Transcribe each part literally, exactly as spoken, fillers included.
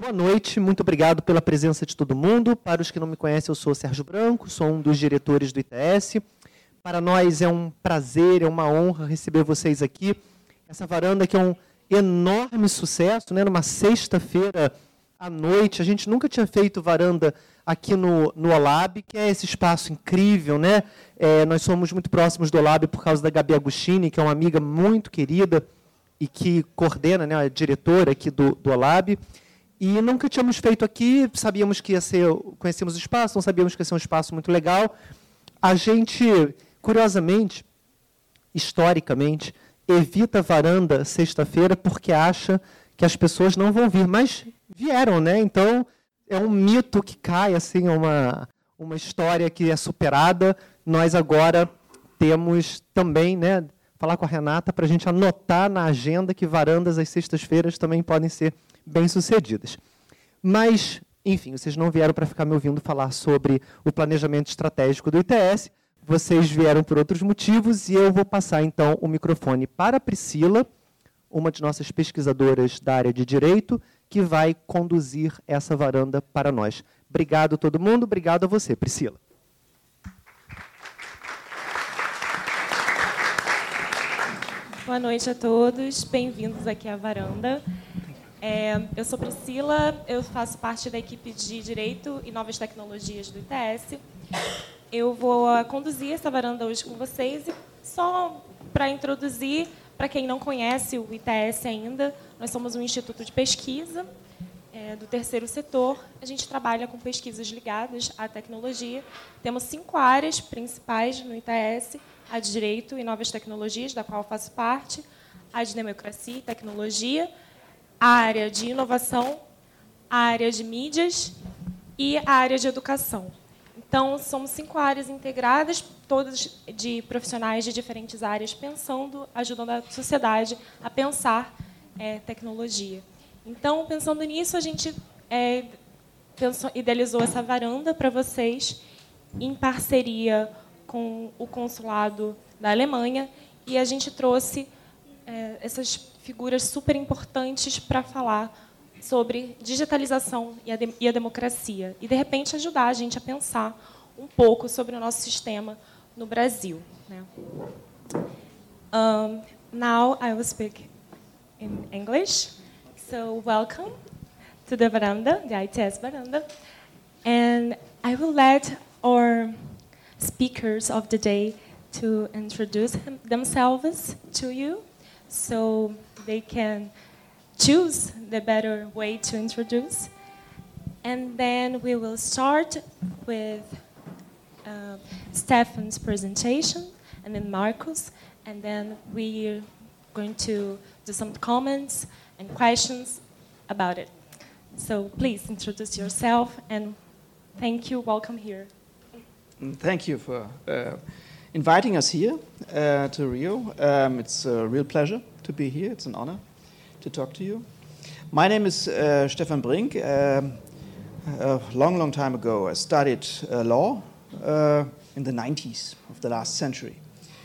Boa noite, muito obrigado pela presença de todo mundo. Para os que não me conhecem, eu sou o Sérgio Branco, sou um dos diretores do I T S. Para nós é um prazer, é uma honra receber vocês aqui. Essa varanda que é um enorme sucesso, né? Numa sexta-feira à noite. A gente nunca tinha feito varanda aqui no, no Olab, que é esse espaço incrível, né? É, nós somos muito próximos do Olab por causa da Gabi Agostini, que é uma amiga muito querida e que coordena, né, a diretora aqui do, do Olab. E nunca tínhamos feito aqui, sabíamos que ia ser, conhecemos o espaço, não sabíamos que ia ser um espaço muito legal. A gente, curiosamente, historicamente, evita a varanda sexta-feira porque acha que as pessoas não vão vir, mas vieram, né? Então, é um mito que cai, assim, uma, uma história que é superada. Nós agora temos também, né, falar com a Renata para a gente anotar na agenda que varandas às sextas-feiras também podem ser bem-sucedidas. Mas, enfim, vocês não vieram para ficar me ouvindo falar sobre o planejamento estratégico do I T S, vocês vieram por outros motivos, e eu vou passar, então, o microfone para a Priscila, uma de nossas pesquisadoras da área de Direito, que vai conduzir essa varanda para nós. Obrigado a todo mundo, obrigado a você, Priscila. Boa noite a todos, bem-vindos aqui à varanda. É, eu sou Priscila, eu faço parte da equipe de Direito e Novas Tecnologias do I T S. Eu vou conduzir essa varanda hoje com vocês e só para introduzir, para quem não conhece o I T S ainda, nós somos um instituto de pesquisa é, do terceiro setor. A gente trabalha com pesquisas ligadas à tecnologia. Temos cinco áreas principais no I T S, a de Direito e Novas Tecnologias, da qual faço parte, a de Democracia e Tecnologia, a área de inovação, a área de mídias e a área de educação. Então, somos cinco áreas integradas, todas de profissionais de diferentes áreas, pensando, ajudando a sociedade a pensar é, tecnologia. Então, pensando nisso, a gente é, pensou, idealizou essa varanda para vocês, em parceria com o consulado da Alemanha, e a gente trouxe é, essas figuras super importantes para falar sobre digitalização e a, de, e a democracia, e, de repente, ajudar a gente a pensar um pouco sobre o nosso sistema no Brasil. Né? Um, now I will speak in English. So welcome to the veranda, the I T S veranda, and I will let our speakers of the day to introduce him, themselves to you, so they can choose the better way to introduce. And then we will start with uh, Stefan's presentation, and then Marcus, and then we're going to do some comments and questions about it. So please introduce yourself, and thank you. Welcome here. Thank you for uh, inviting us here uh, to Rio. Um, it's a real pleasure to be here. It's an honor to talk to you. My name is uh, Stefan Brink. Um, a long, long time ago, I studied uh, law uh, in the nineties of the last century.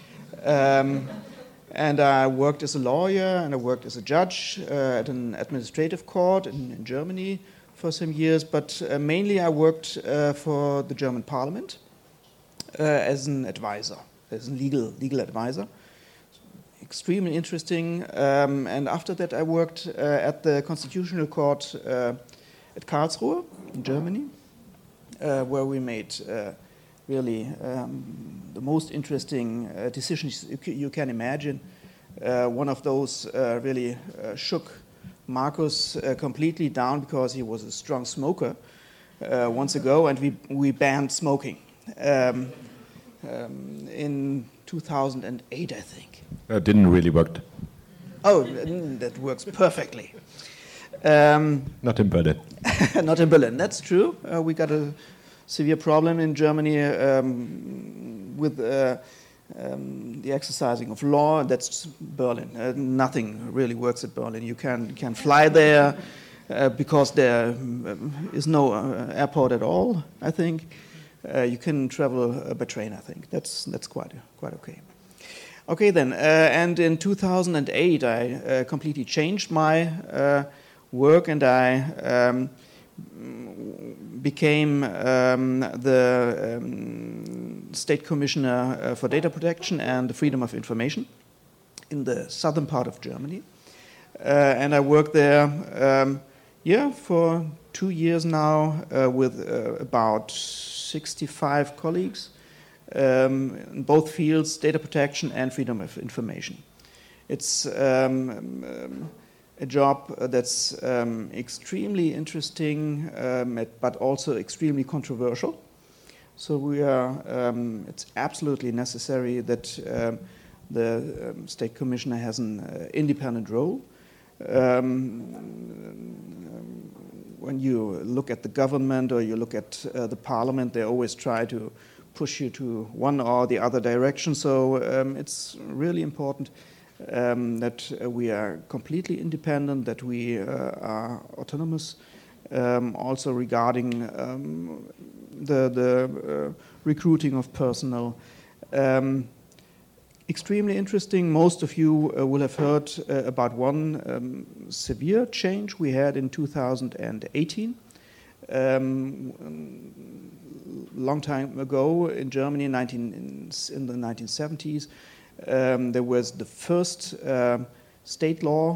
Um, and I worked as a lawyer and I worked as a judge uh, at an administrative court in, in Germany for some years, but uh, mainly I worked uh, for the German Parliament uh, as an advisor, as a legal, legal advisor. Extremely interesting. Um, and after that, I worked uh, at the Constitutional Court uh, at Karlsruhe in Germany, uh, where we made uh, really um, the most interesting uh, decisions you, c- you can imagine. Uh, one of those uh, really uh, shook Marcus uh, completely down because he was a strong smoker uh, once ago, and we, we banned smoking um, um, in two thousand eight, I think. That didn't really work. Oh, that works perfectly. Um, Not in Berlin. Not in Berlin, that's true. Uh, we got a severe problem in Germany um, with uh, um, the exercising of law. That's Berlin. Uh, nothing really works at Berlin. You can, can fly there uh, because there um, is no uh, airport at all, I think. Uh, you can travel uh, by train, I think. That's, that's quite, quite okay. Okay then, uh, and in two thousand eight I uh, completely changed my uh, work, and I um, became um, the um, State Commissioner uh, for Data Protection and the Freedom of Information in the southern part of Germany. Uh, and I worked there um, yeah, for two years now uh, with uh, about sixty-five colleagues um, in both fields, data protection and freedom of information. It's um, um, a job that's um, extremely interesting, um, but also extremely controversial. So we are, um, it's absolutely necessary that um, the um, State Commissioner has an uh, independent role. Um, when you look at the government or you look at uh, the parliament, they always try to push you to one or the other direction. So um, it's really important um, that uh, we are completely independent, that we uh, are autonomous, um, also regarding um, the, the uh, recruiting of personnel. Um, Extremely interesting. Most of you uh, will have heard uh, about one um, severe change we had in two thousand eighteen. Um, long time ago in Germany, nineteen, in, in the nineteen seventies, um, there was the first uh, state law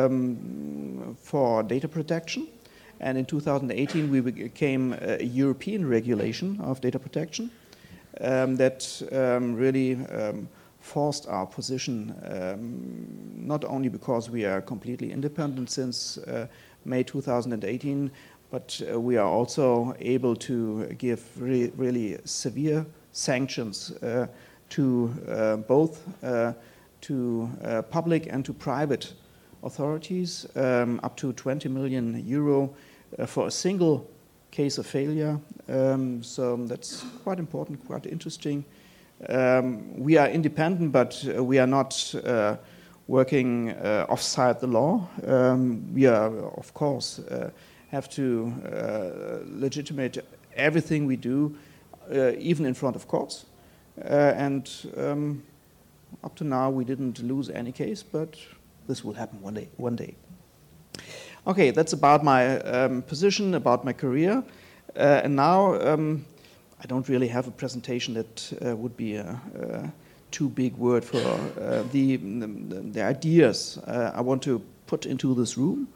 um, for data protection. And in two thousand eighteen, we became a European regulation of data protection um, that um, really um, forced our position, um, not only because we are completely independent since uh, May two thousand eighteen, but uh, we are also able to give re really severe sanctions uh, to uh, both uh, to uh, public and to private authorities, um, up to twenty million euro uh, for a single case of failure. Um, so that's quite important, quite interesting. Um, we are independent, but uh, we are not uh, working uh, offside the law. Um, we are, of course, uh, have to uh, legitimate everything we do, uh, even in front of courts. Uh, and um, up to now, we didn't lose any case, but this will happen one day. One day. Okay, that's about my um, position, about my career, uh, and now. Um, I don't really have a presentation that uh, would be a, a too big word for uh, the, the, the ideas uh, I want to put into this room,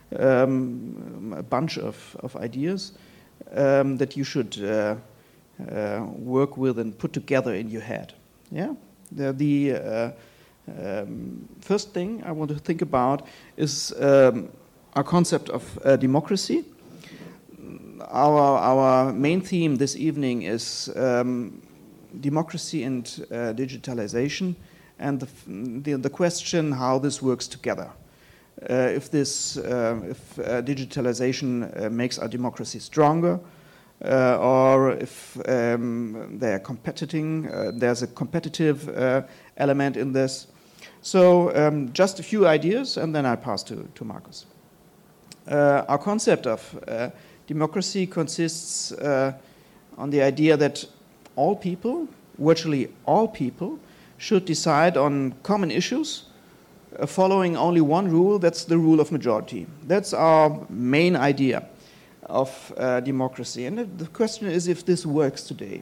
um, a bunch of, of ideas um, that you should uh, uh, work with and put together in your head. Yeah, the, the uh, um, first thing I want to think about is um, our concept of uh, democracy. Our, our main theme this evening is um, democracy and uh, digitalization, and the, the, the question how this works together. Uh, if this, uh, if uh, digitalization uh, makes our democracy stronger, uh, or if um, they are competing, uh, there's a competitive uh, element in this. So um, just a few ideas, and then I pass to, to Markus. Uh, our concept of uh, democracy consists uh, on the idea that all people, virtually all people, should decide on common issues uh, following only one rule, that's the rule of majority. That's our main idea of uh, democracy. And the question is if this works today.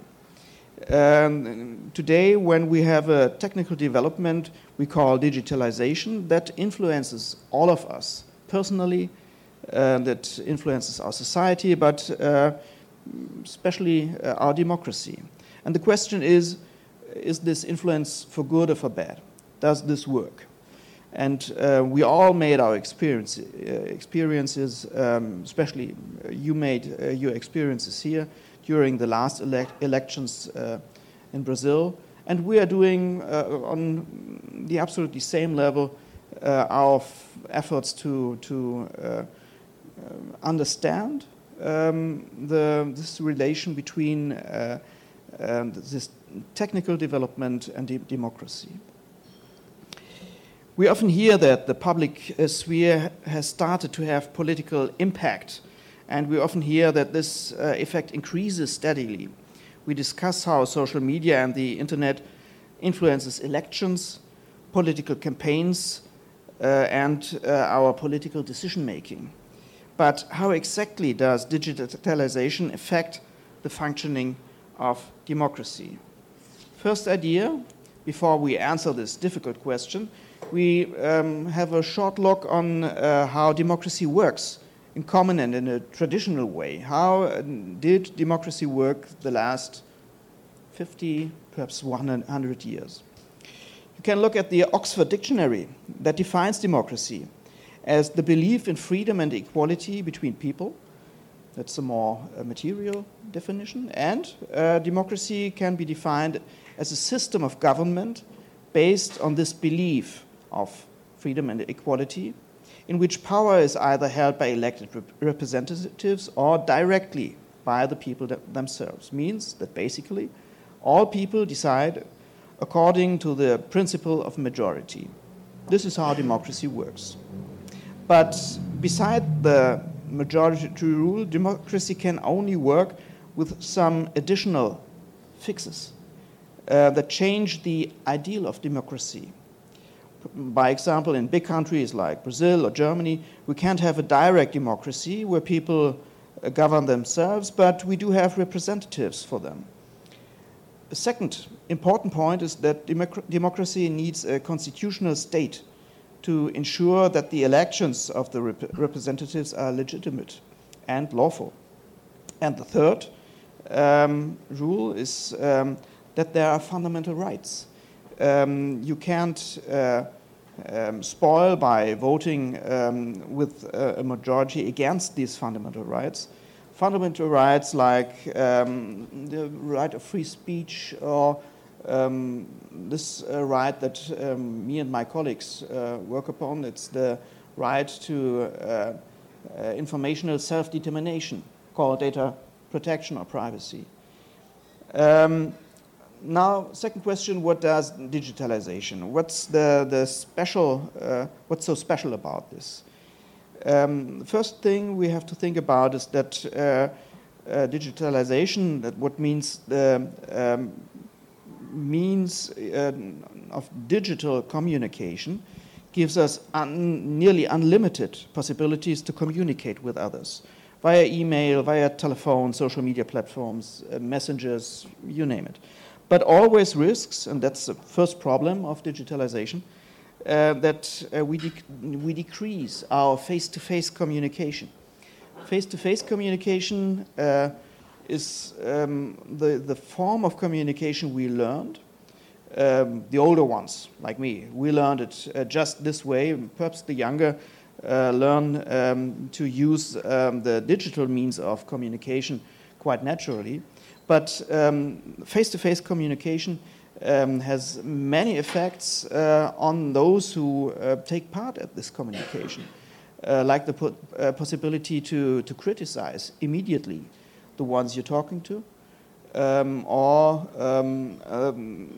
Um, today, when we have a technical development we call digitalization, that influences all of us personally, Uh, that influences our society, but uh, especially uh, our democracy. And the question is, is this influence for good or for bad? Does this work? And uh, we all made our experience, uh, experiences, um, especially you made uh, your experiences here during the last elect elections uh, in Brazil. And we are doing uh, on the absolutely same level uh, our efforts to, to uh, Uh, understand um, the, this relation between uh, um, this technical development and de democracy. We often hear that the public uh, sphere has started to have political impact, and we often hear that this uh, effect increases steadily. We discuss how social media and the internet influences elections, political campaigns, uh, and uh, our political decision-making. But how exactly does digitalization affect the functioning of democracy? First idea, before we answer this difficult question, we um, have a short look on uh, how democracy works in common and in a traditional way. How uh, did democracy work the last fifty, perhaps one hundred years? You can look at the Oxford Dictionary that defines democracy as the belief in freedom and equality between people. That's a more uh, material definition. And uh, democracy can be defined as a system of government based on this belief of freedom and equality, in which power is either held by elected rep representatives or directly by the people themselves. Means that basically all people decide according to the principle of majority. This is how democracy works. But beside the majority rule, democracy can only work with some additional fixes uh, that change the ideal of democracy. By example, in big countries like Brazil or Germany, we can't have a direct democracy where people uh, govern themselves, but we do have representatives for them. A second important point is that democ democracy needs a constitutional state to ensure that the elections of the rep representatives are legitimate and lawful. And the third um, rule is um, that there are fundamental rights. Um, you can't uh, um, spoil by voting um, with a, a majority against these fundamental rights. Fundamental rights like um, the right of free speech or um, this uh, right that um, me and my colleagues uh, work upon. It's the right to uh, uh, informational self-determination, called data protection or privacy. Um, now, second question, what does digitalization? What's the, the special, uh, what's so special about this? Um, the first thing we have to think about is that uh, uh, digitalization, that what means the um, means uh, of digital communication gives us un nearly unlimited possibilities to communicate with others via email, via telephone, social media platforms, uh, messengers, you name it. But always risks, and that's the first problem of digitalization, Uh, that uh, we, dec we decrease our face-to-face communication. Face-to-face communication uh, is um, the, the form of communication we learned. Um, the older ones, like me, we learned it uh, just this way. Perhaps the younger uh, learn um, to use um, the digital means of communication quite naturally. But um, face-to-face communication Um, has many effects uh, on those who uh, take part at this communication, uh, like the po uh, possibility to, to criticize immediately the ones you're talking to, um, or um, um,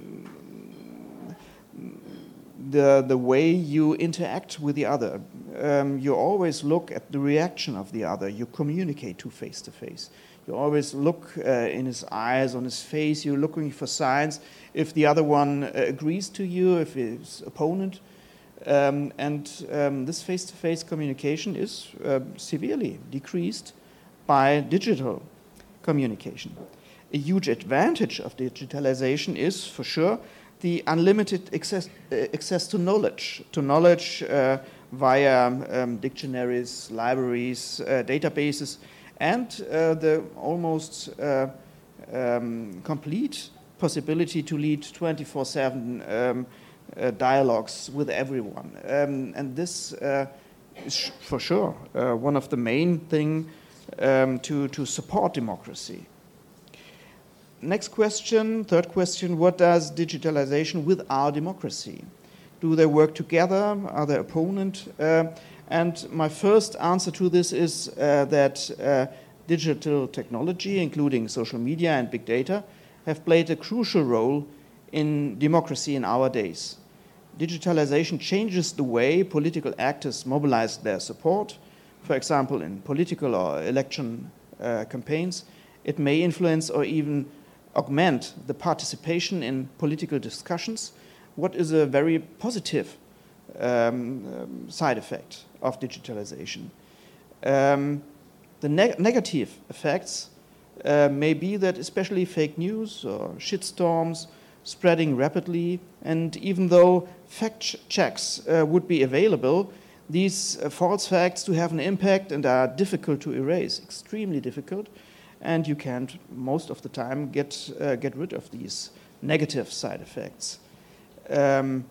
the, the way you interact with the other. Um, you always look at the reaction of the other. You communicate to face-to-face. You always look uh, in his eyes, on his face. You're looking for signs if the other one uh, agrees to you, if his opponent. Um, and um, this face-to-face communication is uh, severely decreased by digital communication. A huge advantage of digitalization is, for sure, the unlimited access, uh, access to knowledge, to knowledge uh, via um, dictionaries, libraries, uh, databases, and uh, the almost uh, um, complete possibility to lead twenty-four seven um, uh, dialogues with everyone. Um, and this uh, is for sure uh, one of the main things um, to, to support democracy. Next question, third question, what does digitalization with our democracy? Do they work together? Are they opponent? Uh, And my first answer to this is uh, that uh, digital technology, including social media and big data, have played a crucial role in democracy in our days. Digitalization changes the way political actors mobilize their support. For example, in political or election uh, campaigns, it may influence or even augment the participation in political discussions, what is a very positive um, um, side effect of digitalization. Um, the neg negative effects uh, may be that especially fake news or shitstorms spreading rapidly, and even though fact ch checks uh, would be available, these uh, false facts do have an impact and are difficult to erase, extremely difficult, and you can't most of the time get, uh, get rid of these negative side effects. Um,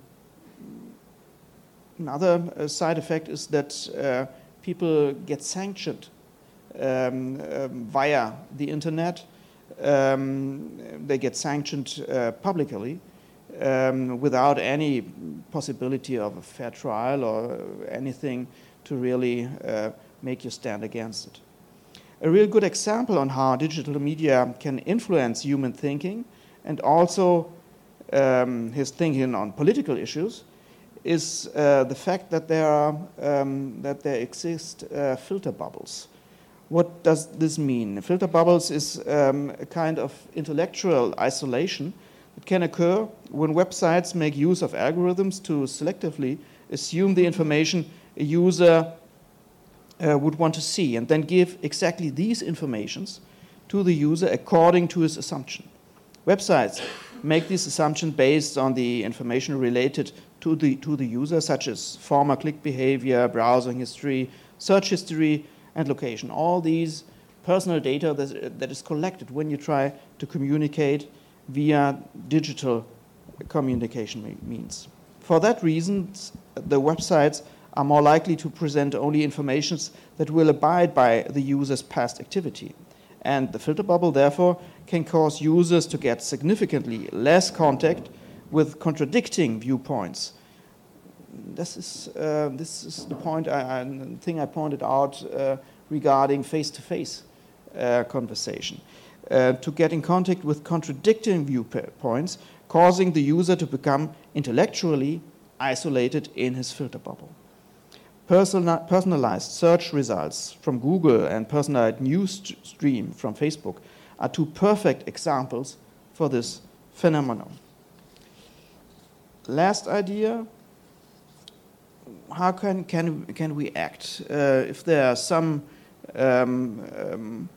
another uh, side effect is that uh, people get sanctioned um, um, via the internet. Um, they get sanctioned uh, publicly um, without any possibility of a fair trial or anything to really uh, make you stand against it. A real good example on how digital media can influence human thinking and also um, his thinking on political issues is uh, the fact that there, are, um, that there exist uh, filter bubbles. What does this mean? Filter bubbles is um, a kind of intellectual isolation that can occur when websites make use of algorithms to selectively assume the information a user uh, would want to see and then give exactly these informations to the user according to his assumption. Websites make this assumption based on the information related to the, to the user, such as former click behavior, browsing history, search history, and location. All these personal data that, that is collected when you try to communicate via digital communication means. For that reason, the websites are more likely to present only information that will abide by the user's past activity. And the filter bubble, therefore, can cause users to get significantly less contact with contradicting viewpoints. This is, uh, this is the point, I, I, thing I pointed out uh, regarding face-to-face uh, conversation. Uh, to get in contact with contradicting viewpoints, causing the user to become intellectually isolated in his filter bubble. Personal, personalized search results from Google and personalized news st stream from Facebook are two perfect examples for this phenomenon. Last idea, how can, can, can we act uh, if there are some um, um,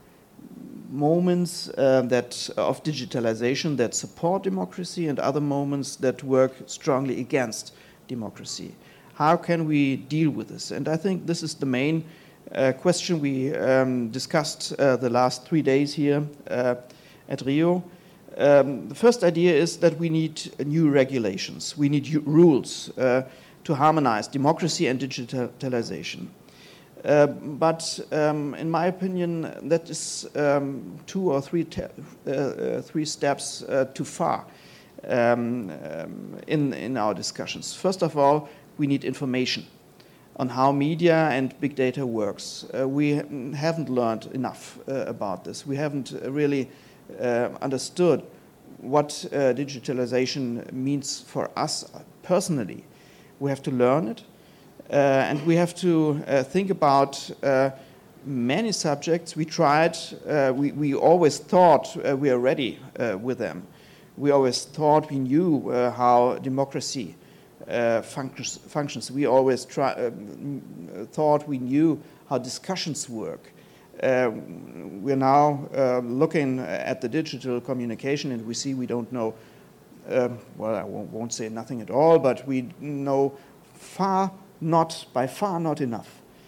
moments uh, that, of digitalization that support democracy and other moments that work strongly against democracy? How can we deal with this? And I think this is the main uh, question we um, discussed uh, the last three days here uh, at Rio. Um, the first idea is that we need new regulations. We need rules uh, to harmonize democracy and digitalization. Uh, but um, in my opinion, that is um, two or three, te uh, uh, three steps uh, too far um, um, in, in our discussions. First of all, we need information on how media and big data works. Uh, we haven't learned enough uh, about this. We haven't really uh, understood what uh, digitalization means for us personally. We have to learn it, uh, and we have to uh, think about uh, many subjects. We tried, uh, we, we always thought uh, we are ready uh, with them. We always thought we knew uh, how democracy Uh, functions, functions. We always try, uh, thought we knew how discussions work. Uh, we're now uh, looking at the digital communication and we see we don't know, uh, well, I won't, won't say nothing at all, but we know far not, by far not enough.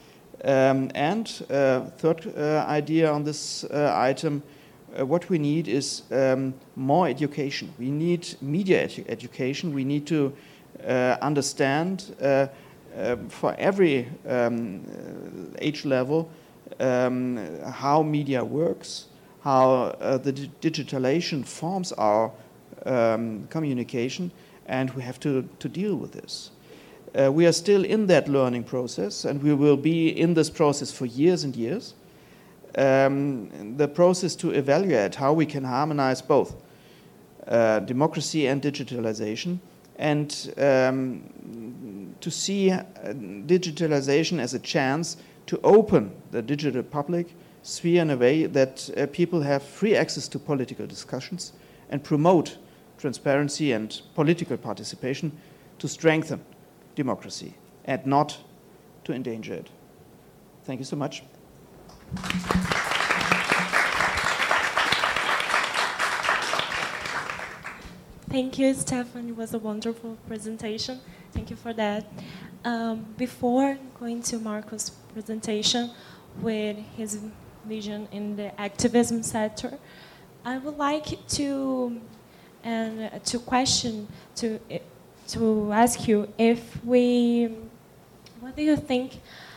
Um, and uh, third uh, idea on this uh, item, uh, what we need is um, more education. We need media edu education. We need to Uh, understand uh, uh, for every um, age level um, how media works, how uh, the di digitalization forms our um, communication, and we have to, to deal with this. Uh, we are still in that learning process, and we will be in this process for years and years. Um, the process to evaluate how we can harmonize both uh, democracy and digitalization, and um, to see uh, digitalization as a chance to open the digital public sphere in a way that uh, people have free access to political discussions and promote transparency and political participation to strengthen democracy and not to endanger it. Thank you so much. Thank you, Stefan. It was a wonderful presentation. Thank you for that. Um, before going to Marcos' presentation with his vision in the activism sector, I would like to and uh, to question to to ask you if we, what do you think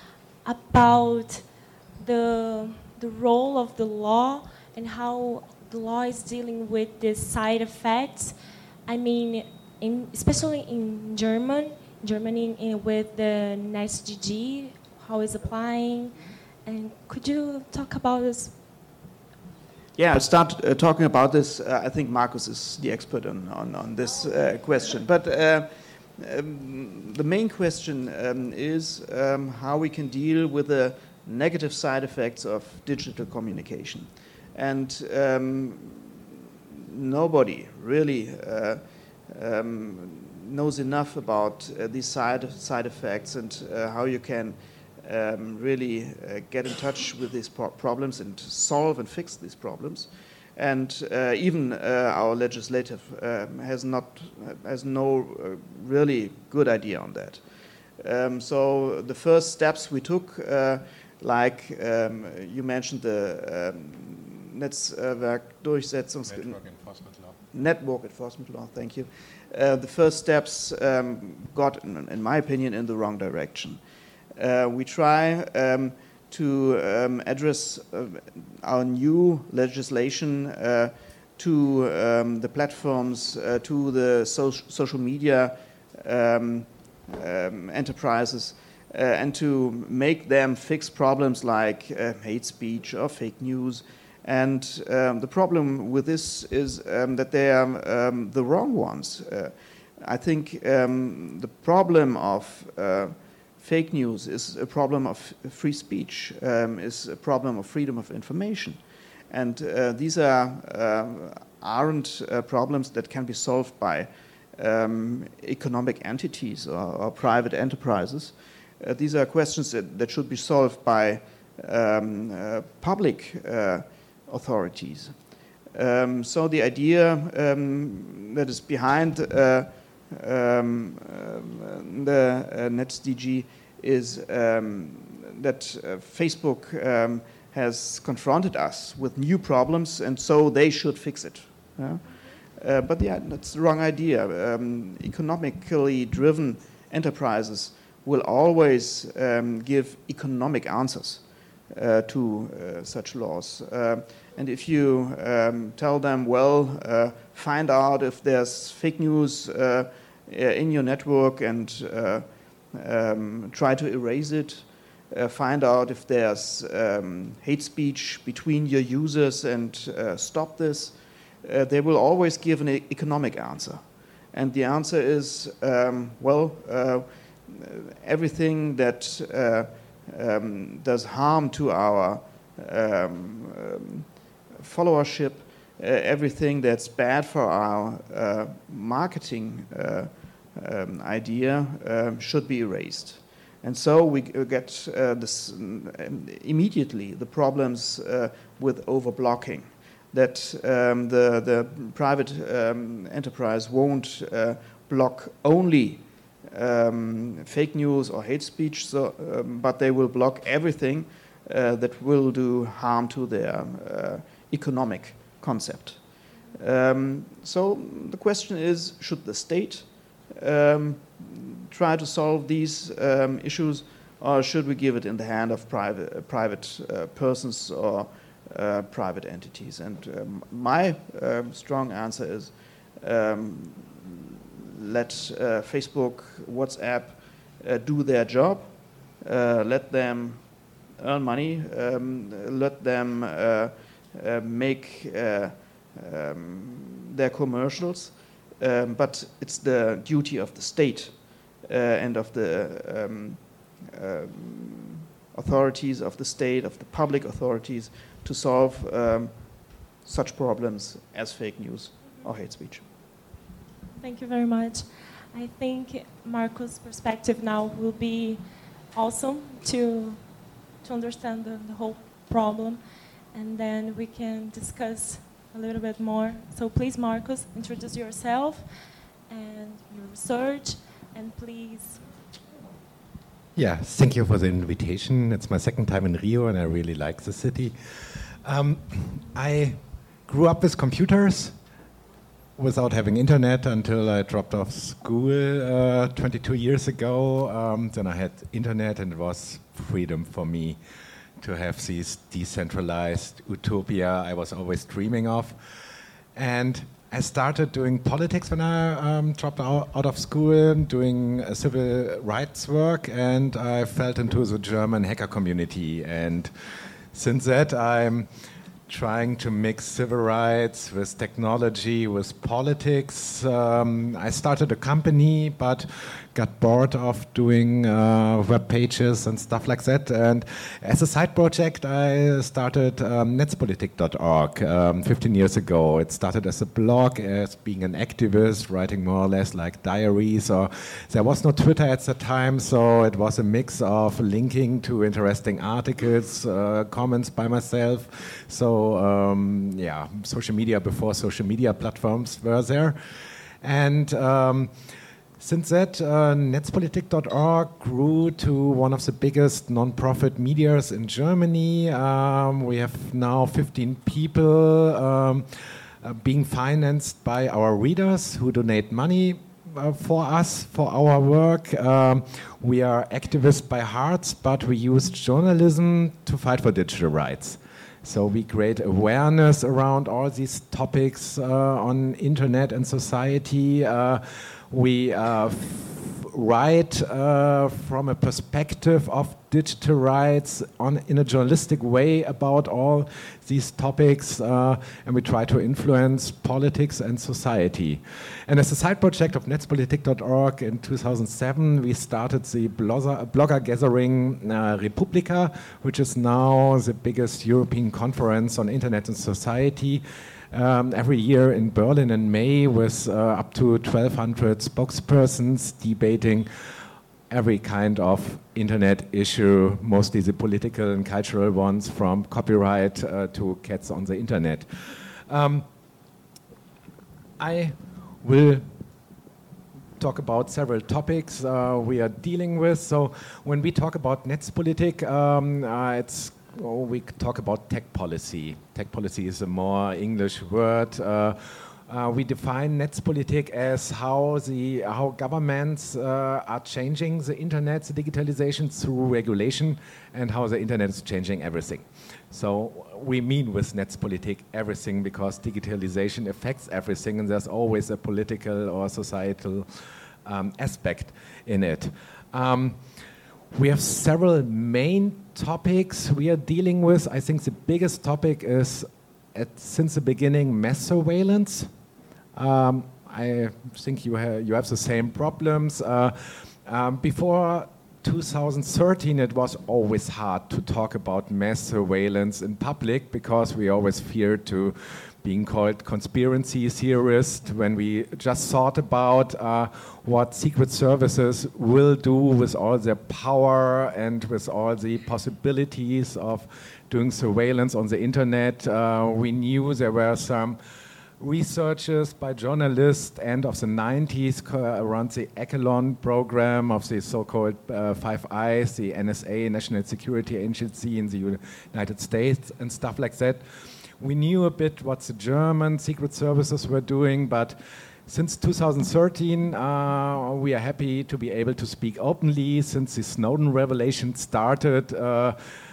about the the role of the law and how the law is dealing with the side effects? I mean, in, especially in German, Germany in, with the N E S D G, how it's applying, and could you talk about this? Yeah, I'll start uh, talking about this. Uh, I think Marcos is the expert on, on, on this uh, question. But uh, um, the main question um, is um, how we can deal with the negative side effects of digital communication. And um, nobody really uh, um, knows enough about uh, these side, side effects and uh, how you can um, really uh, get in touch with these pro problems and solve and fix these problems. And uh, even uh, our legislative um, has not has no uh, really good idea on that. Um, so the first steps we took, uh, like um, you mentioned the um, Netzwerkdurchsetzungs Network Enforcement Law. Network Enforcement Law, thank you. Uh, the first steps um, got, in, in my opinion, in the wrong direction. Uh, we try um, to um, address uh, our new legislation uh, to um, the platforms, uh, to the so social media um, um, enterprises, uh, and to make them fix problems like uh, hate speech or fake news. And um, the problem with this is um, that they are um, the wrong ones. Uh, I think um, the problem of uh, fake news is a problem of free speech, um, is a problem of freedom of information. And uh, these are, uh, aren't uh, problems that can be solved by um, economic entities or, or private enterprises. Uh, these are questions that, that should be solved by um, uh, public uh, authorities. Um, so the idea um, that is behind uh, um, um, the uh, N E S D G is um, that uh, Facebook um, has confronted us with new problems, and so they should fix it. Yeah? Uh, but yeah, that's the wrong idea. Um, economically driven enterprises will always um, give economic answers Uh, to uh, such laws. Uh, and if you um, tell them, well, uh, find out if there's fake news uh, in your network and uh, um, try to erase it, uh, find out if there's um, hate speech between your users and uh, stop this, uh, they will always give an e economic answer. And the answer is, um, well, uh, everything that uh, Um, does harm to our um, um, followership, uh, everything that's bad for our uh, marketing uh, um, idea um, should be erased. And so we get uh, this um, immediately the problems uh, with overblocking, that um, the, the private um, enterprise won't uh, block only Um, fake news or hate speech, so, um, but they will block everything uh, that will do harm to their uh, economic concept. Um, so the question is, should the state um, try to solve these um, issues, or should we give it in the hand of private, uh, private uh, persons or uh, private entities? And um, my uh, strong answer is um, let uh, Facebook, WhatsApp uh, do their job, uh, let them earn money, um, let them uh, uh, make uh, um, their commercials, um, but it's the duty of the state uh, and of the um, um, authorities of the state, of the public authorities, to solve um, such problems as fake news or hate speech. Thank you very much. I think Marcos' perspective now will be awesome to to understand the, the whole problem, and then we can discuss a little bit more. So please, Marcos, introduce yourself and your research, and please. Yeah, thank you for the invitation. It's my second time in Rio, and I really like the city. Um, I grew up with computers without having internet until I dropped off school uh, twenty-two years ago. Um, then I had internet, and it was freedom for me to have this decentralized utopia I was always dreaming of. And I started doing politics when I um, dropped out, out of school, doing uh, civil rights work, and I fell into the German hacker community. And since that, I'm trying to mix civil rights with technology, with politics. Um, I started a company, but got bored of doing uh, web pages and stuff like that. And as a side project, I started um, Netzpolitik dot org um, fifteen years ago. It started as a blog, as being an activist, writing more or less like diaries. Or there was no Twitter at the time, so it was a mix of linking to interesting articles, uh, comments by myself. So um, yeah, social media before social media platforms were there. And um, since that, uh, Netzpolitik dot org grew to one of the biggest non-profit medias in Germany. Um, we have now fifteen people um, uh, being financed by our readers who donate money uh, for us, for our work. Um, we are activists by heart, but we use journalism to fight for digital rights. So we create awareness around all these topics uh, on internet and society. Uh, we uh, f- write uh, from a perspective of digital rights on, in a journalistic way about all these topics, uh, and we try to influence politics and society. And as a side project of Netzpolitik dot org in two thousand seven, we started the blogger, blogger gathering uh, Republika, which is now the biggest European conference on internet and society. Um, every year in Berlin in May, with uh, up to twelve hundred spokespersons debating every kind of internet issue, mostly the political and cultural ones, from copyright uh, to cats on the internet. Um, I will talk about several topics uh, we are dealing with. So when we talk about Netzpolitik, um, uh, it's Oh, we talk about tech policy. Tech policy is a more English word. Uh, uh, we define Netzpolitik as how the how governments uh, are changing the internet, the digitalization through regulation, and how the internet is changing everything. So we mean with Netzpolitik everything, because digitalization affects everything, and there's always a political or societal um, aspect in it. Um, We have several main topics we are dealing with. I think the biggest topic is, at, since the beginning, mass surveillance. Um, I think you, ha- you have the same problems. Uh, um, before two thousand thirteen, it was always hard to talk about mass surveillance in public, because we always feared to being called conspiracy theorists when we just thought about uh, what secret services will do with all their power and with all the possibilities of doing surveillance on the internet. Uh, we knew there were some researchers by journalists end of the nineties co- around the Echelon program of the so-called uh, Five Eyes, the N S A, National Security Agency in the United States, and stuff like that. We knew a bit what the German secret services were doing, but since two thousand thirteen, uh, we are happy to be able to speak openly. Since the Snowden revelation started, uh,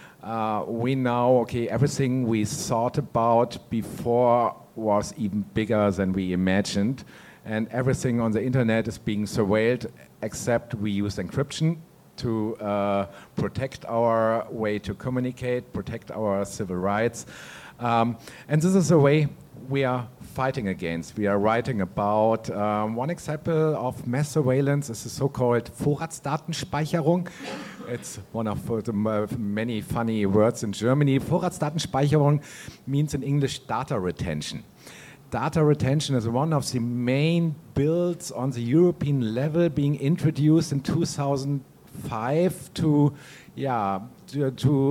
uh, we know, okay, everything we thought about before was even bigger than we imagined, and everything on the internet is being surveilled, except we use encryption to uh, protect our way to communicate, protect our civil rights. Um, and this is a way we are fighting against. We are writing about um, one example of mass surveillance is the so-called Vorratsdatenspeicherung. It's one of the many funny words in Germany. Vorratsdatenspeicherung means in English data retention. Data retention is one of the main bills on the European level, being introduced in two thousand five to, yeah, to, to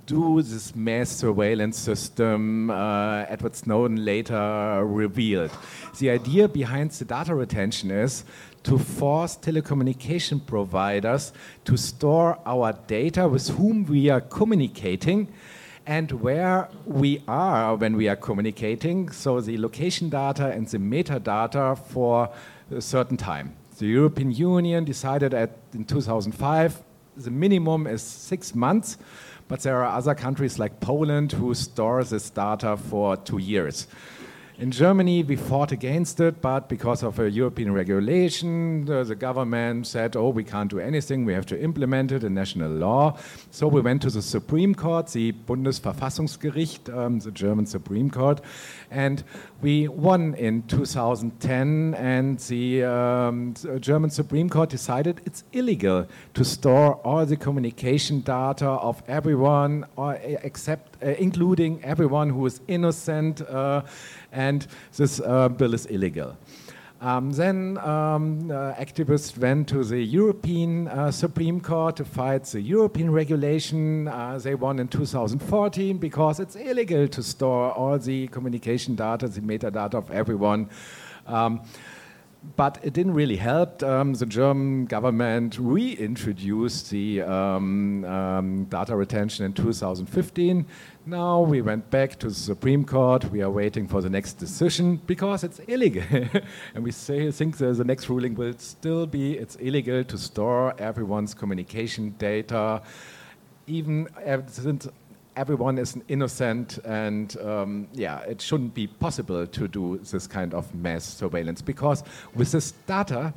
do this mass surveillance system uh, Edward Snowden later revealed. The idea behind the data retention is to force telecommunication providers to store our data with whom we are communicating and where we are when we are communicating, so the location data and the metadata for a certain time. The European Union decided at, in two thousand five, the minimum is six months, but there are other countries like Poland who store this data for two years. In Germany, we fought against it, but because of a European regulation, the, the government said, oh, we can't do anything, we have to implement it in national law. So we went to the Supreme Court, the Bundesverfassungsgericht, um, the German Supreme Court, and we won in two thousand ten, and the, um, the German Supreme Court decided it's illegal to store all the communication data of everyone, or, except, uh, including everyone who is innocent, uh, and this uh, bill is illegal. Um, then um, uh, activists went to the European uh, Supreme Court to fight the European regulation. Uh, they won in two thousand fourteen because it's illegal to store all the communication data, the metadata of everyone. Um, But it didn't really help. Um, the German government reintroduced the um, um, data retention in two thousand fifteen. Now we went back to the Supreme Court. We are waiting for the next decision because it's illegal. And we say, think the, the next ruling will still be it's illegal to store everyone's communication data, even since everyone is innocent, and um, yeah, it shouldn't be possible to do this kind of mass surveillance, because with this data,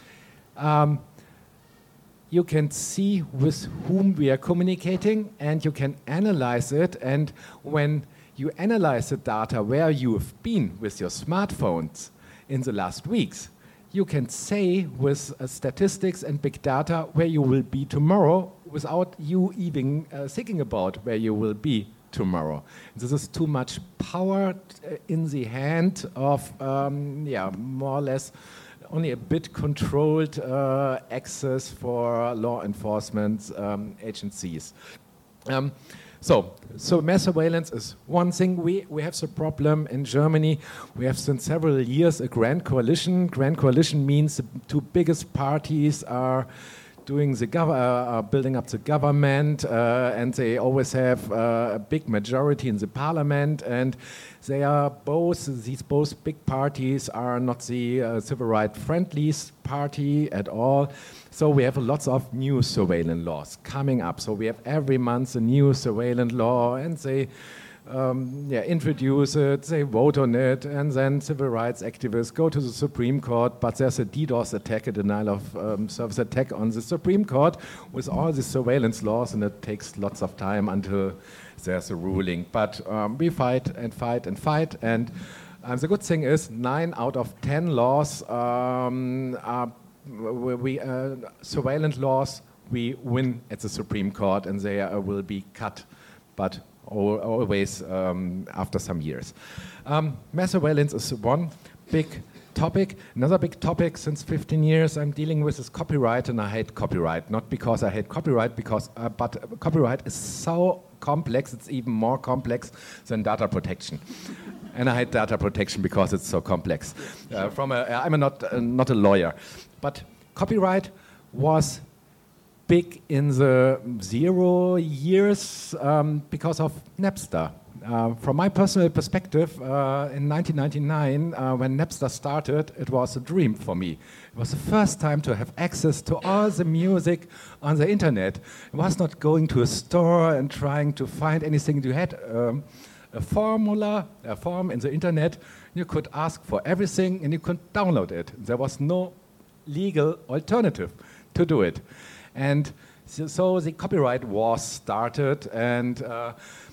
um, you can see with whom we are communicating, and you can analyze it, and when you analyze the data where you have been with your smartphones in the last weeks, you can say with uh, statistics and big data where you will be tomorrow without you even uh, thinking about where you will be tomorrow. This is too much power uh, in the hand of, um, yeah, more or less only a bit controlled uh, access for law enforcement um, agencies. Um, So, so mass surveillance is one thing. We, we have the problem in Germany. We have since several years a grand coalition. Grand coalition means the two biggest parties are doing the gov- uh, are building up the government, uh, and they always have uh, a big majority in the parliament. And they are both these both big parties are not the uh, civil rights friendliest party at all. So we have lots of new surveillance laws coming up. So we have every month a new surveillance law, and they um, yeah, introduce it, they vote on it, and then civil rights activists go to the Supreme Court, but there's a DDoS attack, a denial of um, service attack on the Supreme Court with all the surveillance laws, and it takes lots of time until there's a ruling. But um, we fight and fight and fight, and um, the good thing is nine out of ten laws um, are We, uh, surveillance laws, we win at the Supreme Court, and they uh, will be cut, but al always um, after some years. Um, mass surveillance is one big topic. Another big topic since fifteen years I'm dealing with is copyright, and I hate copyright. Not because I hate copyright, because uh, but copyright is so complex, it's even more complex than data protection. And I hate data protection because it's so complex. Uh, from a, I'm a not, uh, not a lawyer. But copyright was big in the zero years um, because of Napster. Uh, from my personal perspective, uh, in nineteen ninety-nine, uh, when Napster started, it was a dream for me. It was the first time to have access to all the music on the internet. It was not going to a store and trying to find anything. You had um, a formula, a form in the internet. You could ask for everything, and you could download it. There was no legal alternative to do it. And so, so the copyright war started, and uh,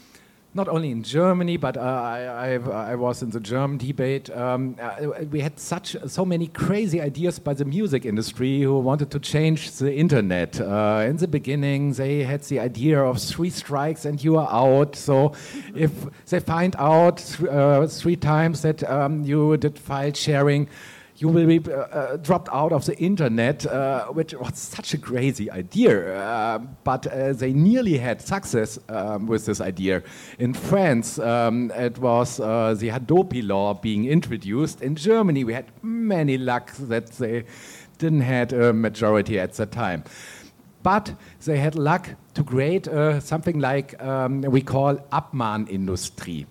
not only in Germany, but uh, I, I, I was in the German debate. Um, uh, we had such so many crazy ideas by the music industry who wanted to change the internet. Uh, in the beginning, they had the idea of three strikes and you are out. So if they find out th uh, three times that um, you did file sharing, you will be uh, uh, dropped out of the internet, uh, which was such a crazy idea. Uh, but uh, they nearly had success um, with this idea. In France, um, it was uh, the Hadopi law being introduced. In Germany, we had many luck that they didn't have a majority at the time. But they had luck to create uh, something like um, we call Abmahnindustrie.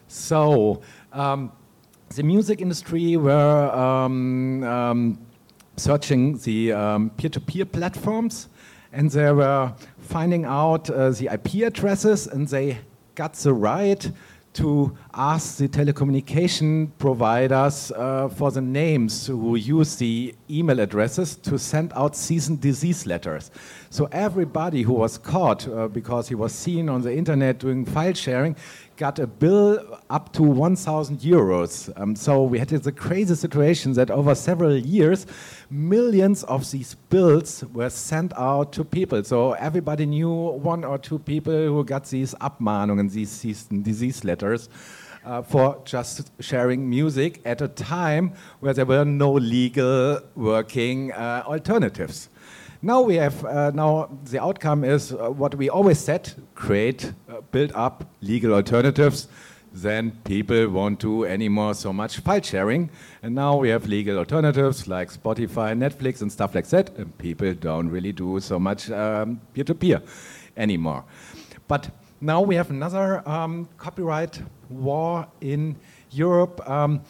So um, the music industry were um, um, searching the um, peer-to-peer platforms, and they were finding out uh, the I P addresses, and they got the right to ask the telecommunication providers uh, for the names who use the email addresses to send out cease and desist letters. So everybody who was caught uh, because he was seen on the internet doing file sharing got a bill up to one thousand euros. Um, so we had the crazy situation that over several years, millions of these bills were sent out to people. So everybody knew one or two people who got these Abmahnungen, these cease and desist letters, uh, for just sharing music at a time where there were no legal working uh, alternatives. Now we have, uh, now the outcome is uh, what we always said, create, uh, build up legal alternatives, then people won't do anymore so much file sharing. And now we have legal alternatives like Spotify, Netflix and stuff like that, and people don't really do so much um, peer-to-peer anymore. But now we have another um, copyright war in Europe. Um,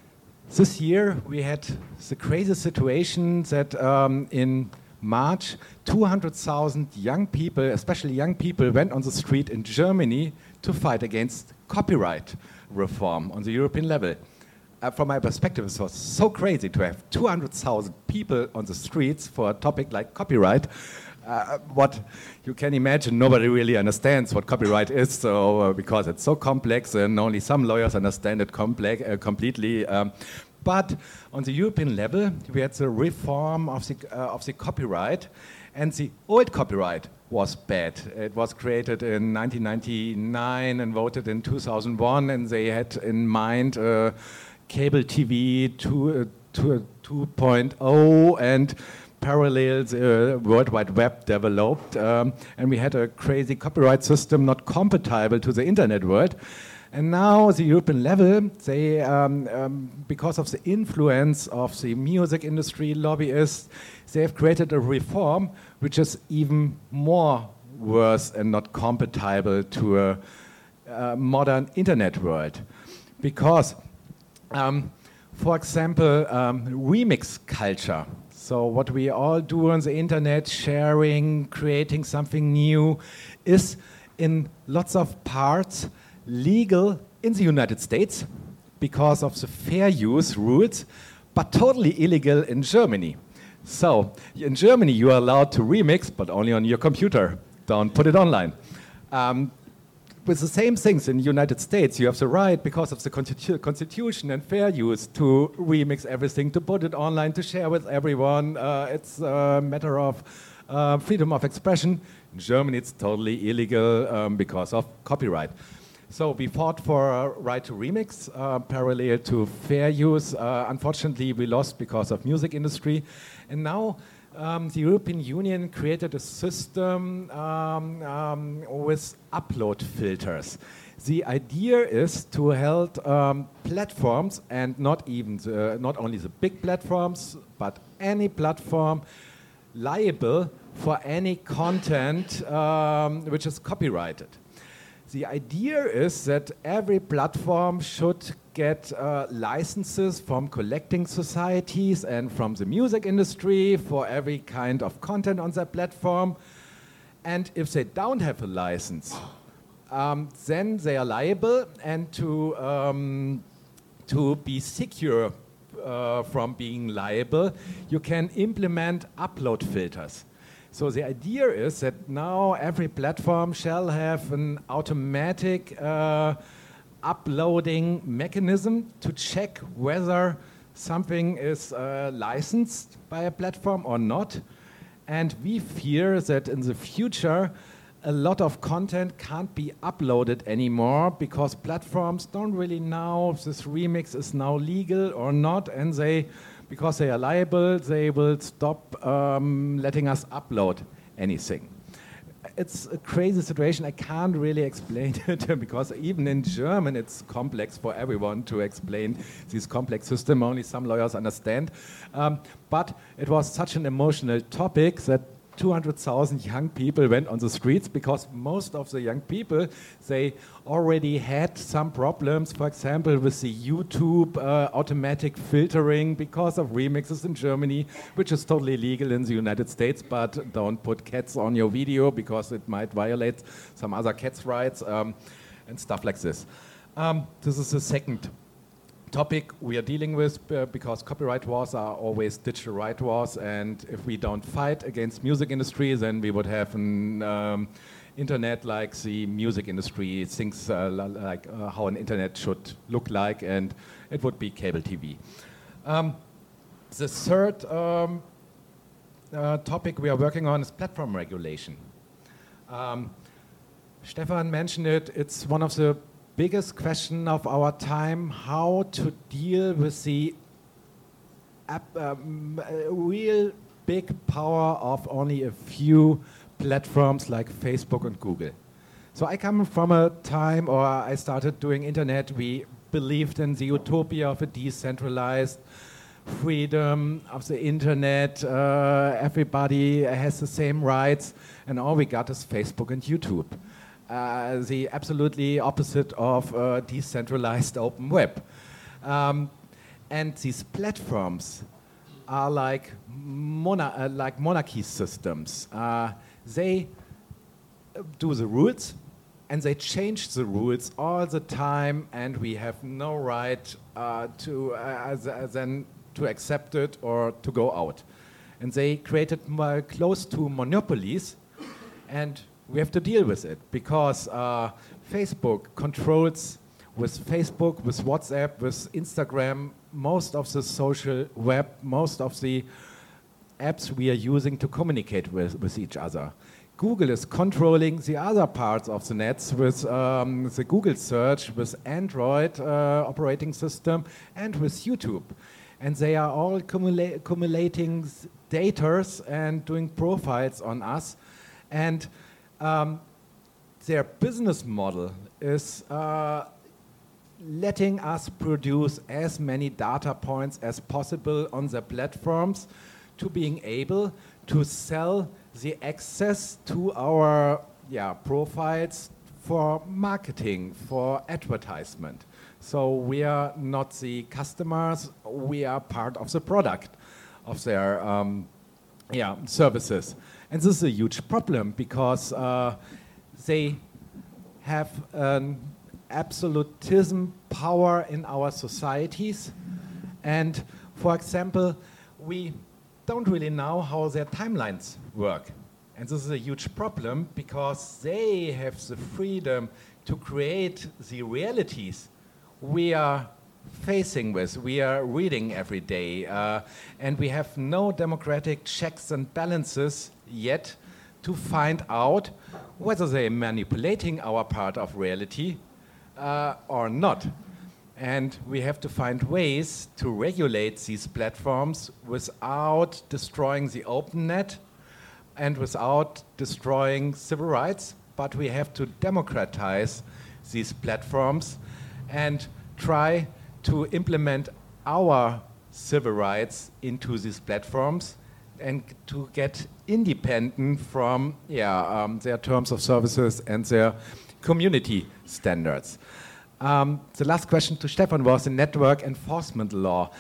this year we had the crazy situation that um, in March, two hundred thousand young people, especially young people, went on the street in Germany to fight against copyright reform on the European level. Uh, from my perspective, it was so crazy to have two hundred thousand people on the streets for a topic like copyright. Uh, what you can imagine, nobody really understands what copyright is, so uh, because it's so complex and only some lawyers understand it complex, uh, completely. Um, But on the European level, we had the reform of the, uh, of the copyright, and the old copyright was bad. It was created in nineteen ninety-nine and voted in two thousand one, and they had in mind uh, cable T V two point oh and parallel the uh, World Wide Web developed, um, and we had a crazy copyright system not compatible to the internet world. And now the European level, they, um, um, because of the influence of the music industry lobbyists, they have created a reform which is even more worse and not compatible to a, a modern internet world. Because, um, for example, um, remix culture. So what we all do on the internet, sharing, creating something new, is in lots of parts legal in the United States because of the fair use rules, but totally illegal in Germany. So in Germany, you are allowed to remix, but only on your computer. Don't put it online. Um, with the same things in the United States, you have the right, because of the constitu Constitution and fair use, to remix everything, to put it online, to share with everyone. Uh, it's a matter of uh, freedom of expression. In Germany, it's totally illegal um, because of copyright. So we fought for a right to remix, uh, parallel to fair use. Uh, unfortunately, we lost because of music industry. And now um, the European Union created a system um, um, with upload filters. The idea is to hold um, platforms, and not even the, not only the big platforms, but any platform liable for any content um, which is copyrighted. The idea is that every platform should get uh, licenses from collecting societies and from the music industry for every kind of content on their platform. And if they don't have a license, um, then they are liable, and to, um, to be secure uh, from being liable, you can implement upload filters. So the idea is that now every platform shall have an automatic uh, uploading mechanism to check whether something is uh, licensed by a platform or not. And we fear that in the future, a lot of content can't be uploaded anymore because platforms don't really know if this remix is now legal or not, and they because they are liable, they will stop um, letting us upload anything. It's a crazy situation. I can't really explain it because even in German it's complex for everyone to explain this complex system. Only some lawyers understand. Um, but it was such an emotional topic that two hundred thousand young people went on the streets because most of the young people, they already had some problems, for example, with the YouTube uh, automatic filtering because of remixes in Germany, which is totally legal in the United States, but don't put cats on your video because it might violate some other cats' rights um, and stuff like this. Um, this is the second topic we are dealing with uh, because copyright wars are always digital right wars, and if we don't fight against music industry, then we would have an um, internet like the music industry thinks uh, like uh, how an internet should look like, and it would be cable T V. Um, the third um, uh, topic we are working on is platform regulation. Um, Stefan mentioned it, it's one of the biggest question of our time, how to deal with the app, um, real big power of only a few platforms like Facebook and Google. So I come from a time, or I started doing internet, we believed in the utopia of a decentralized freedom of the internet, uh, everybody has the same rights, and all we got is Facebook and YouTube. Uh, the absolutely opposite of uh, decentralized open web. Um, and these platforms are like, mona uh, like monarchy systems. Uh, they do the rules and they change the rules all the time, and we have no right uh, to uh, then to accept it or to go out. And they created uh, close to monopolies, and we have to deal with it because uh, Facebook controls, with Facebook, with WhatsApp, with Instagram, most of the social web, most of the apps we are using to communicate with, with each other. Google is controlling the other parts of the nets with um, the Google search, with Android uh, operating system, and with YouTube. And they are all cumula accumulating data and doing profiles on us. And Um, their business model is uh, letting us produce as many data points as possible on their platforms to being able to sell the access to our yeah, profiles for marketing, for advertisement. So we are not the customers, we are part of the product of their um, yeah, services. And this is a huge problem because uh, they have an absolutism power in our societies. And for example, we don't really know how their timelines work. And this is a huge problem because they have the freedom to create the realities we are facing with, we are reading every day, uh, and we have no democratic checks and balances yet to find out whether they're manipulating our part of reality uh, or not. And we have to find ways to regulate these platforms without destroying the open net and without destroying civil rights, but we have to democratize these platforms and try to implement our civil rights into these platforms and to get independent from yeah, um, their terms of services and their community standards. Um, the last question to Stefan was the network enforcement law.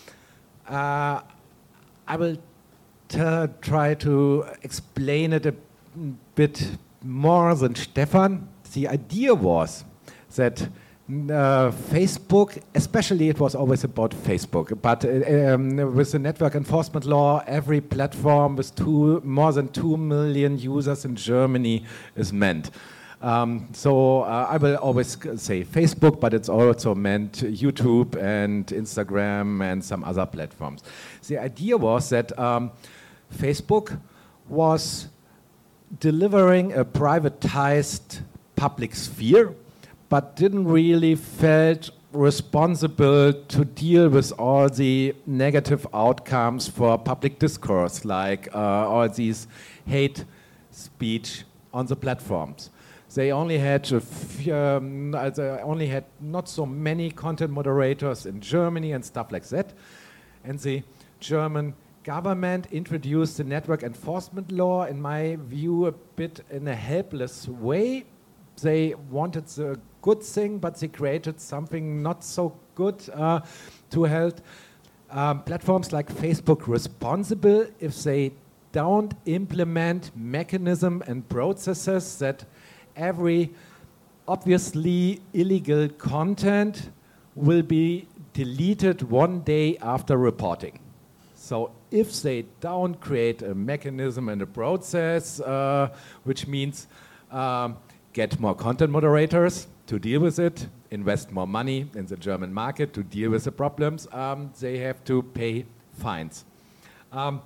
Uh, I will try to explain it a bit more than Stefan. The idea was that Uh, Facebook, especially it was always about Facebook, but uh, um, with the network enforcement law, every platform with two, more than two million users in Germany is meant. Um, so uh, I will always say Facebook, but it's also meant YouTube and Instagram and some other platforms. The idea was that um, Facebook was delivering a privatized public sphere, but didn't really felt responsible to deal with all the negative outcomes for public discourse, like uh, all these hate speech on the platforms. They only had a few, um, they only had not so many content moderators in Germany and stuff like that. And the German government introduced the network enforcement law, in my view, a bit in a helpless way. They wanted the good thing, but they created something not so good uh, to hold um, platforms like Facebook responsible if they don't implement mechanism and processes that every obviously illegal content will be deleted one day after reporting. So if they don't create a mechanism and a process, uh, which means um, get more content moderators to deal with it, invest more money in the German market to deal with the problems, um, they have to pay fines. Um,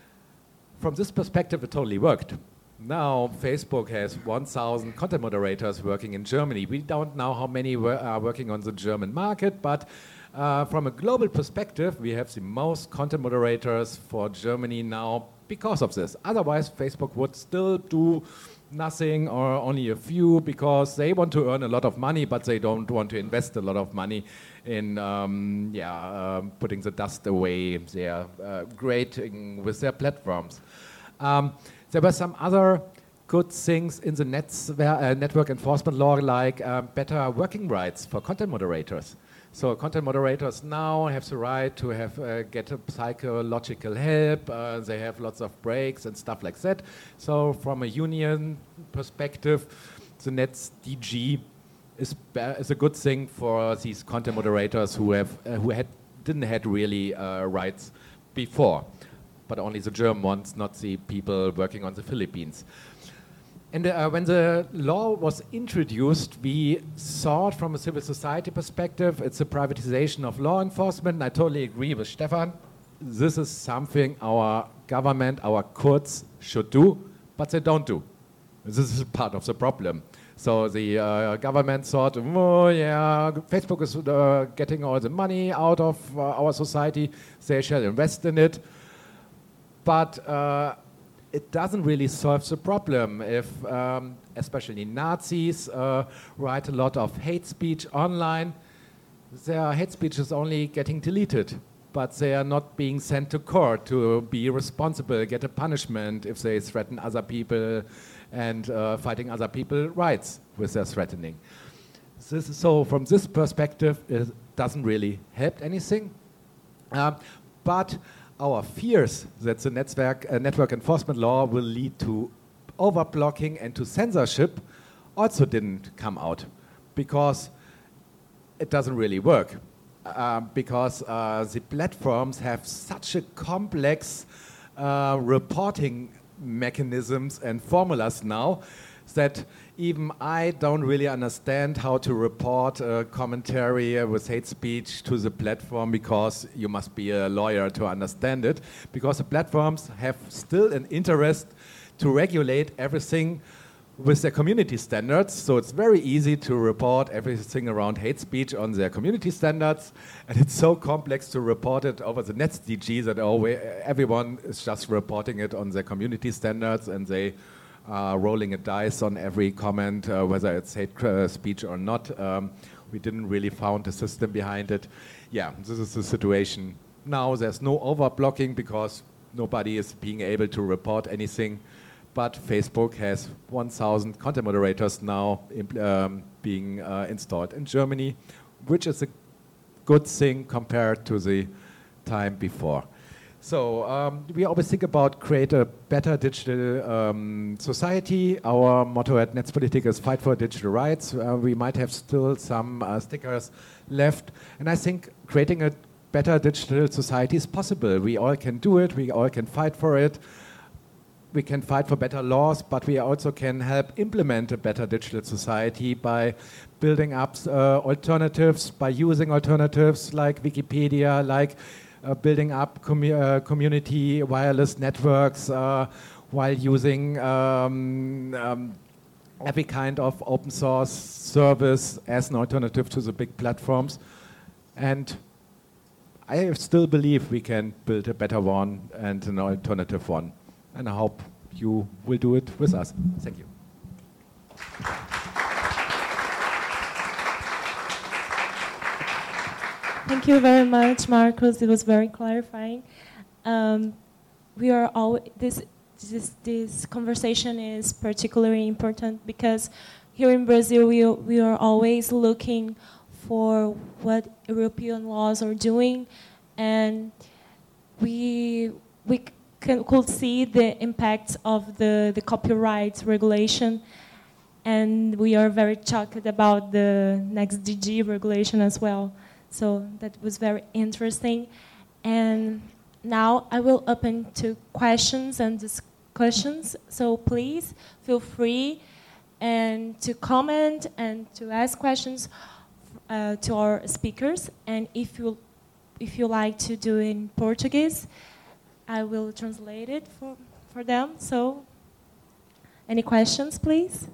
from this perspective, it totally worked. Now Facebook has one thousand content moderators working in Germany. We don't know how many are working on the German market, but uh, from a global perspective, we have the most content moderators for Germany now because of this. Otherwise, Facebook would still do nothing or only a few because they want to earn a lot of money, but they don't want to invest a lot of money in um, yeah, uh, putting the dust away. They are uh, grading with their platforms. Um, There were some other good things in the nets, uh, network enforcement law, like uh, better working rights for content moderators. So content moderators now have the right to have uh, get a psychological help. Uh, they have lots of breaks and stuff like that. So from a union perspective, the Nets D G is, is a good thing for these content moderators who have uh, who had didn't had really uh, rights before. But only the German ones, not the people working on the Philippines. And uh, when the law was introduced, we saw it from a civil society perspective. It's a privatization of law enforcement, and I totally agree with Stefan. This is something our government, our courts should do, but they don't do. This is part of the problem. So the uh, government thought, oh yeah, Facebook is uh, getting all the money out of uh, our society, they shall invest in it. But uh, it doesn't really solve the problem if, um, especially Nazis, uh, write a lot of hate speech online. Their hate speech is only getting deleted, but they are not being sent to court to be responsible, get a punishment if they threaten other people and uh, fighting other people's rights with their threatening. This is, so from this perspective, it doesn't really help anything. Uh, but our fears that the network, uh, network enforcement law will lead to overblocking and to censorship also didn't come out because it doesn't really work. Uh, because uh, the platforms have such a complex uh, reporting mechanisms and formulas now that even I don't really understand how to report a commentary with hate speech to the platform because you must be a lawyer to understand it, because the platforms have still an interest to regulate everything with their community standards, so it's very easy to report everything around hate speech on their community standards, and it's so complex to report it over the Nets D G that always, everyone is just reporting it on their community standards, and they are rolling a dice on every comment, uh, whether it's hate uh, speech or not. Um, we didn't really found a system behind it. Yeah, this is the situation. Now there's no overblocking because nobody is being able to report anything. But Facebook has one thousand content moderators now um, being uh, installed in Germany, which is a good thing compared to the time before. So um, we always think about create a better digital um, society. Our motto at Netzpolitik is fight for digital rights. Uh, we might have still some uh, stickers left. And I think creating a better digital society is possible. We all can do it. We all can fight for it. We can fight for better laws, but we also can help implement a better digital society by building up uh, alternatives, by using alternatives like Wikipedia, like uh, building up commu uh, community wireless networks, uh, while using um, um, every kind of open source service as an alternative to the big platforms. And I still believe we can build a better one and an alternative one. And I hope you will do it with us. Thank you. Thank you very much, Marcos. It was very clarifying. Um, we are all this, this this conversation is particularly important because here in Brazil we we are always looking for what European laws are doing, and we we can, could see the impact of the the copyright regulation, and we are very shocked about the next D G regulation as well. So that was very interesting. And now I will open to questions and discussions. So please feel free and to comment and to ask questions uh, to our speakers. And if you if you like to do it in Portuguese, I will translate it for, for them. So any questions, please?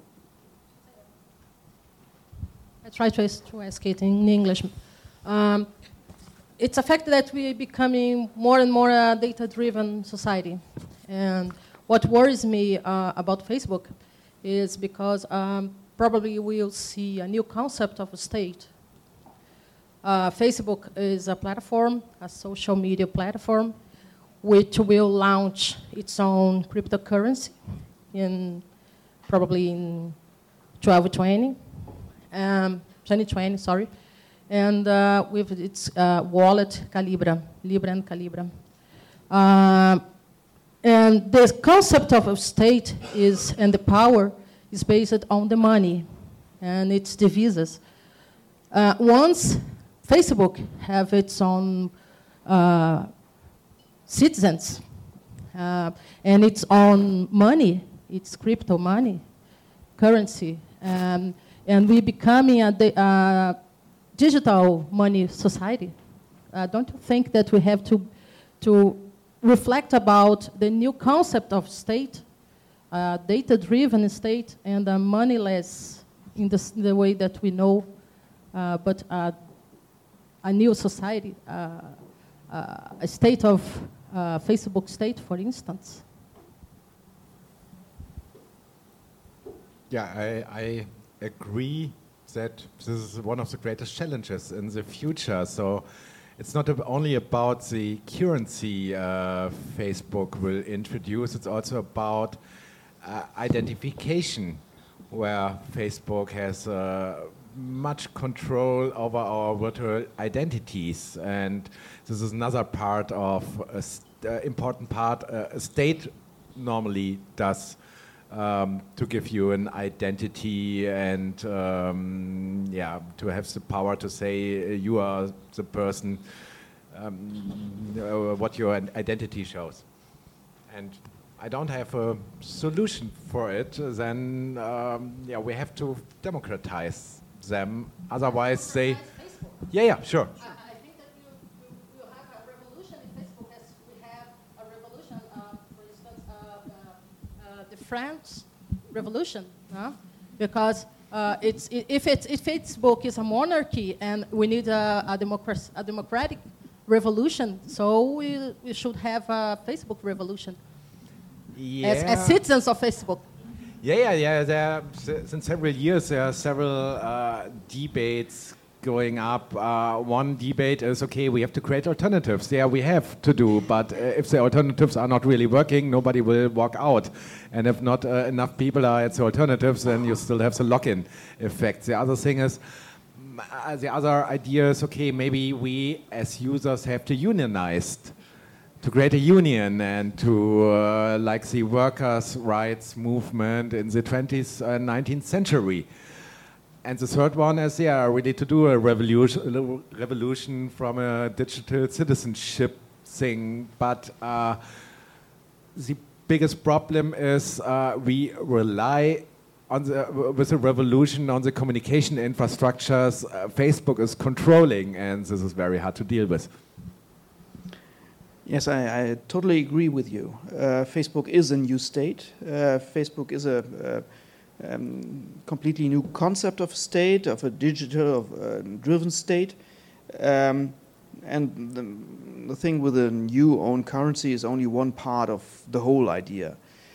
I try to, to ask it in English. Um, it's a fact that we are becoming more and more a data-driven society. And what worries me uh, about Facebook is because um, probably we'll see a new concept of a state. Uh, Facebook is a platform, a social media platform, which will launch its own cryptocurrency in probably in twelve twenty, um, twenty twenty, sorry. And uh, with its uh, wallet, Calibra, Libra and Calibra. Uh, and the concept of a state is, and the power is based on the money and its devises. Uh, once Facebook have its own uh, citizens uh, and its own money, its crypto money, currency, um, and we becoming a de- uh, digital money society, uh, don't you think that we have to, to reflect about the new concept of state, uh, data-driven state, and a moneyless in the, the way that we know, uh, but uh, a new society, uh, uh, a state of uh, Facebook state, for instance? Yeah, I, I agree that this is one of the greatest challenges in the future. So it's not ab- only about the currency uh, Facebook will introduce, it's also about uh, identification, where Facebook has uh, much control over our virtual identities. And this is another part of, a st- uh, important part uh, a state normally does. Um, to give you an identity and um, yeah, to have the power to say uh, you are the person, um, uh, what your identity shows. And I don't have a solution for it. Then um, yeah, we have to democratize them. Otherwise, they. Yeah, yeah, sure. I think that you, you, you have a revolution in Facebook as we have a revolution, uh, for instance, uh, uh, uh, the France Revolution, huh? Because uh, it's, if, it's, if Facebook is a monarchy and we need a, a, democracy, a democratic revolution, so we, we should have a Facebook revolution Yeah. as, as citizens of Facebook. Yeah, yeah, yeah. There are, since several years, there are several uh, debates going up. Uh, one debate is, okay, we have to create alternatives. Yeah, we have to do, but uh, if the alternatives are not really working, nobody will walk out. And if not uh, enough people are at the alternatives, then you still have the lock-in effect. The other thing is, uh, the other idea is, okay, maybe we as users have to unionize, to create a union and to, uh, like the workers' rights movement in the twentieth and nineteenth century. And the third one is, yeah, really to do a revolution, revolution from a digital citizenship thing. But uh, the biggest problem is uh, we rely on the, with the revolution on the communication infrastructures uh, Facebook is controlling, and this is very hard to deal with. Yes, I, I totally agree with you. Uh, Facebook is a new state. Uh, Facebook is a, um, completely new concept of state, of a digital uh, driven state. Um, and the, the thing with a new own currency is only one part of the whole idea.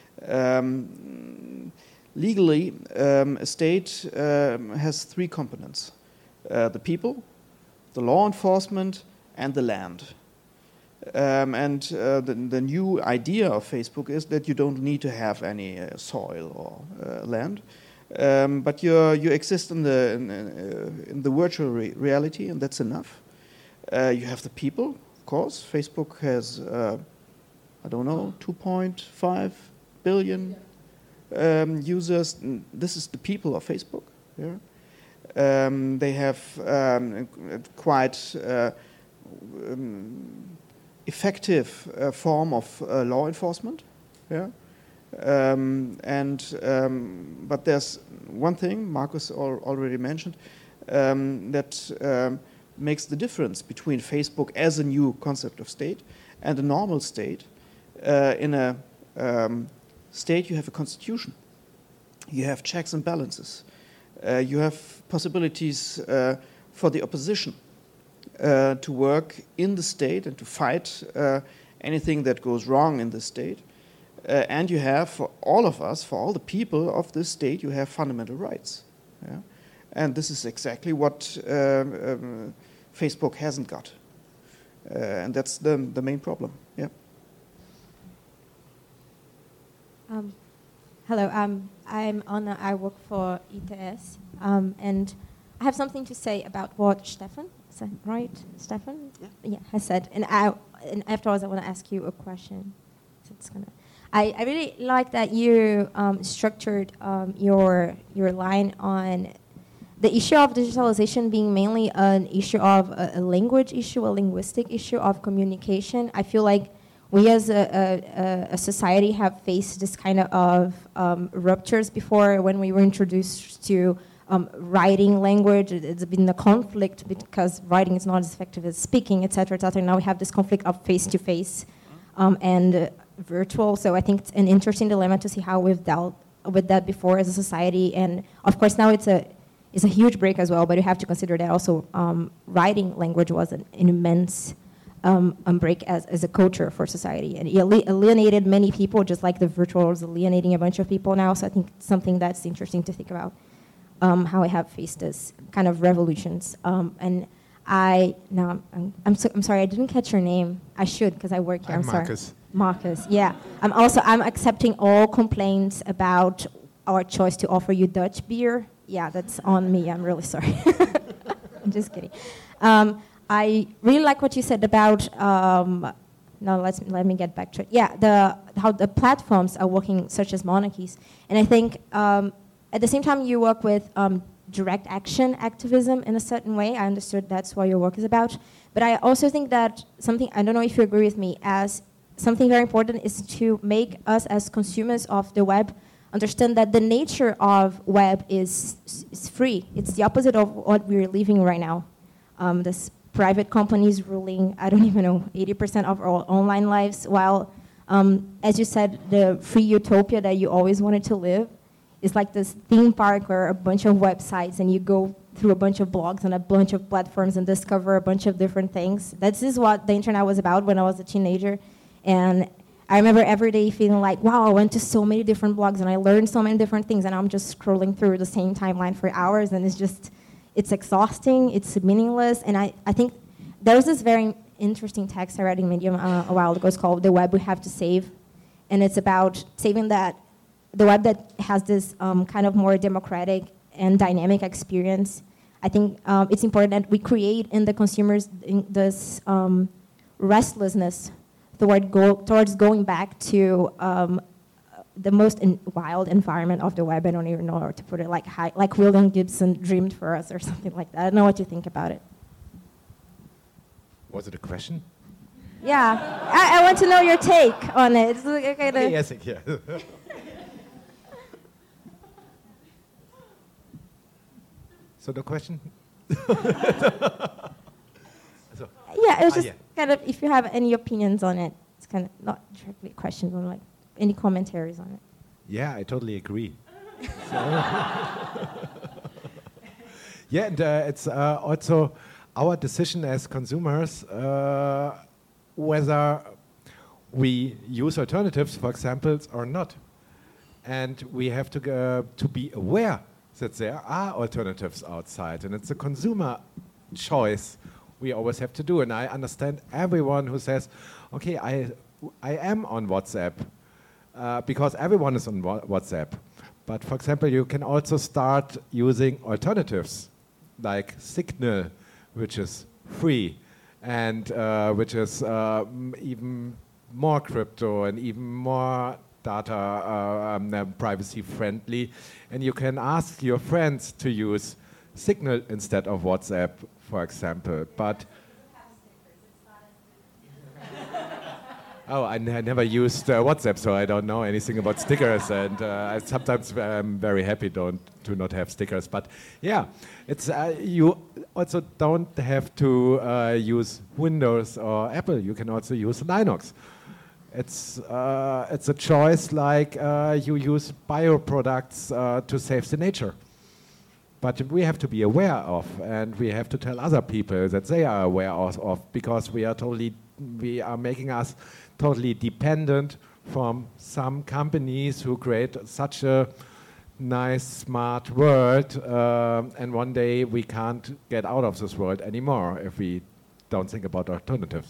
Um, legally, um, a state um, has three components. Uh, the people, the law enforcement, and the land. Um, and uh, the, the new idea of Facebook is that you don't need to have any uh, soil or uh, land, um, but you you exist in the in, uh, in the virtual re reality, and that's enough. Uh, you have the people, of course. Facebook has uh, I don't know two point five billion um, users. This is the people of Facebook. Yeah. Um, they have um, quite uh, um, effective uh, form of uh, law enforcement, yeah. Um, and um, but there's one thing Markus al already mentioned um, that um, makes the difference between Facebook as a new concept of state and a normal state. Uh, in a um, state, you have a constitution, you have checks and balances, uh, you have possibilities uh, for the opposition. Uh, to work in the state and to fight uh, anything that goes wrong in the state. Uh, and you have, for all of us, for all the people of this state, you have fundamental rights. Yeah? And this is exactly what um, um, Facebook hasn't got. Uh, and that's the, the main problem. Yeah. Um, hello, um, I'm Anna, I work for I T S. Um, and I have something to say about what Stefan right, Stefan? Yeah. yeah, has said. And, I, and afterwards, I want to ask you a question. So it's gonna. I, I really like that you um, structured um, your your line on the issue of digitalization being mainly an issue of a, a language issue, a linguistic issue of communication. I feel like we as a, a, a society have faced this kind of um, ruptures before when we were introduced to Um, writing language. It's been a conflict because writing is not as effective as speaking, et cetera, et cetera. Now we have this conflict of face-to-face um, and uh, virtual. So I think it's an interesting dilemma to see how we've dealt with that before as a society. And of course now it's a it's a huge break as well. But you have to consider that also um, writing language was an, an immense um, um, break as as a culture for society, and it alienated many people, just like the virtual is alienating a bunch of people now. So I think it's something that's interesting to think about. Um, how I have faced this kind of revolutions. Um, and I, no, I'm, I'm, so, I'm sorry, I didn't catch your name. I should, because I work here, I'm, I'm sorry. Markus. Markus, yeah. I'm also, I'm accepting all complaints about our choice to offer you Dutch beer. Yeah, that's on me, I'm really sorry. I'm just kidding. Um, I really like what you said about, um, no, let's, let me get back to it. Yeah, the, how the platforms are working, such as monarchies. And I think, um, at the same time, you work with um, direct action activism in a certain way. I understood that's what your work is about. But I also think that something, I don't know if you agree with me, as something very important is to make us as consumers of the web understand that the nature of web is, is free. It's the opposite of what we're living right now. Um, this private companies ruling, I don't even know, eighty percent of our online lives, while, um, as you said, the free utopia that you always wanted to live, it's like this theme park or a bunch of websites, and you go through a bunch of blogs and a bunch of platforms and discover a bunch of different things. This is what the internet was about when I was a teenager. And I remember every day feeling like, wow, I went to so many different blogs and I learned so many different things, and I'm just scrolling through the same timeline for hours, and it's just, it's exhausting, it's meaningless. And I, I think there was this very interesting text I read in Medium uh, a while ago. It's called The Web We Have to Save. And it's about saving that the web that has this um, kind of more democratic and dynamic experience. I think um, it's important that we create in the consumers in this um, restlessness toward go towards going back to um, the most in wild environment of the web. I don't even know how to put it, like high, like William Gibson dreamed for us or something like that. I don't know what you think about it. Was it a question? Yeah, I, I want to know your take on it. It's like, okay, the, yes, yeah. So the question? so, yeah, it was ah, just yeah. kind of, if you have any opinions on it, it's kind of not directly questions, but like any commentaries on it. Yeah, I totally agree. Yeah, and uh, it's uh, also our decision as consumers uh, whether we use alternatives, for example, or not. And we have to, uh, to be aware that there are alternatives outside, and it's a consumer choice we always have to do. And I understand everyone who says, okay, I, I am on WhatsApp, uh, because everyone is on wa WhatsApp. But for example, you can also start using alternatives, like Signal, which is free, and uh, which is uh, even more crypto and even more data uh, um, privacy friendly. And you can ask your friends to use Signal instead of WhatsApp, for example. But oh, I, n I never used uh, WhatsApp, so I don't know anything about stickers. And uh, I sometimes I'm very happy don't to not have stickers. But yeah, it's uh, you also don't have to uh, use Windows or Apple. You can also use Linux. It's uh, it's a choice, like uh, you use bioproducts uh, to save the nature. But we have to be aware of, and we have to tell other people that they are aware of, of because we are totally, we are making us totally dependent from some companies who create such a nice, smart world, uh, and one day we can't get out of this world anymore if we don't think about alternatives.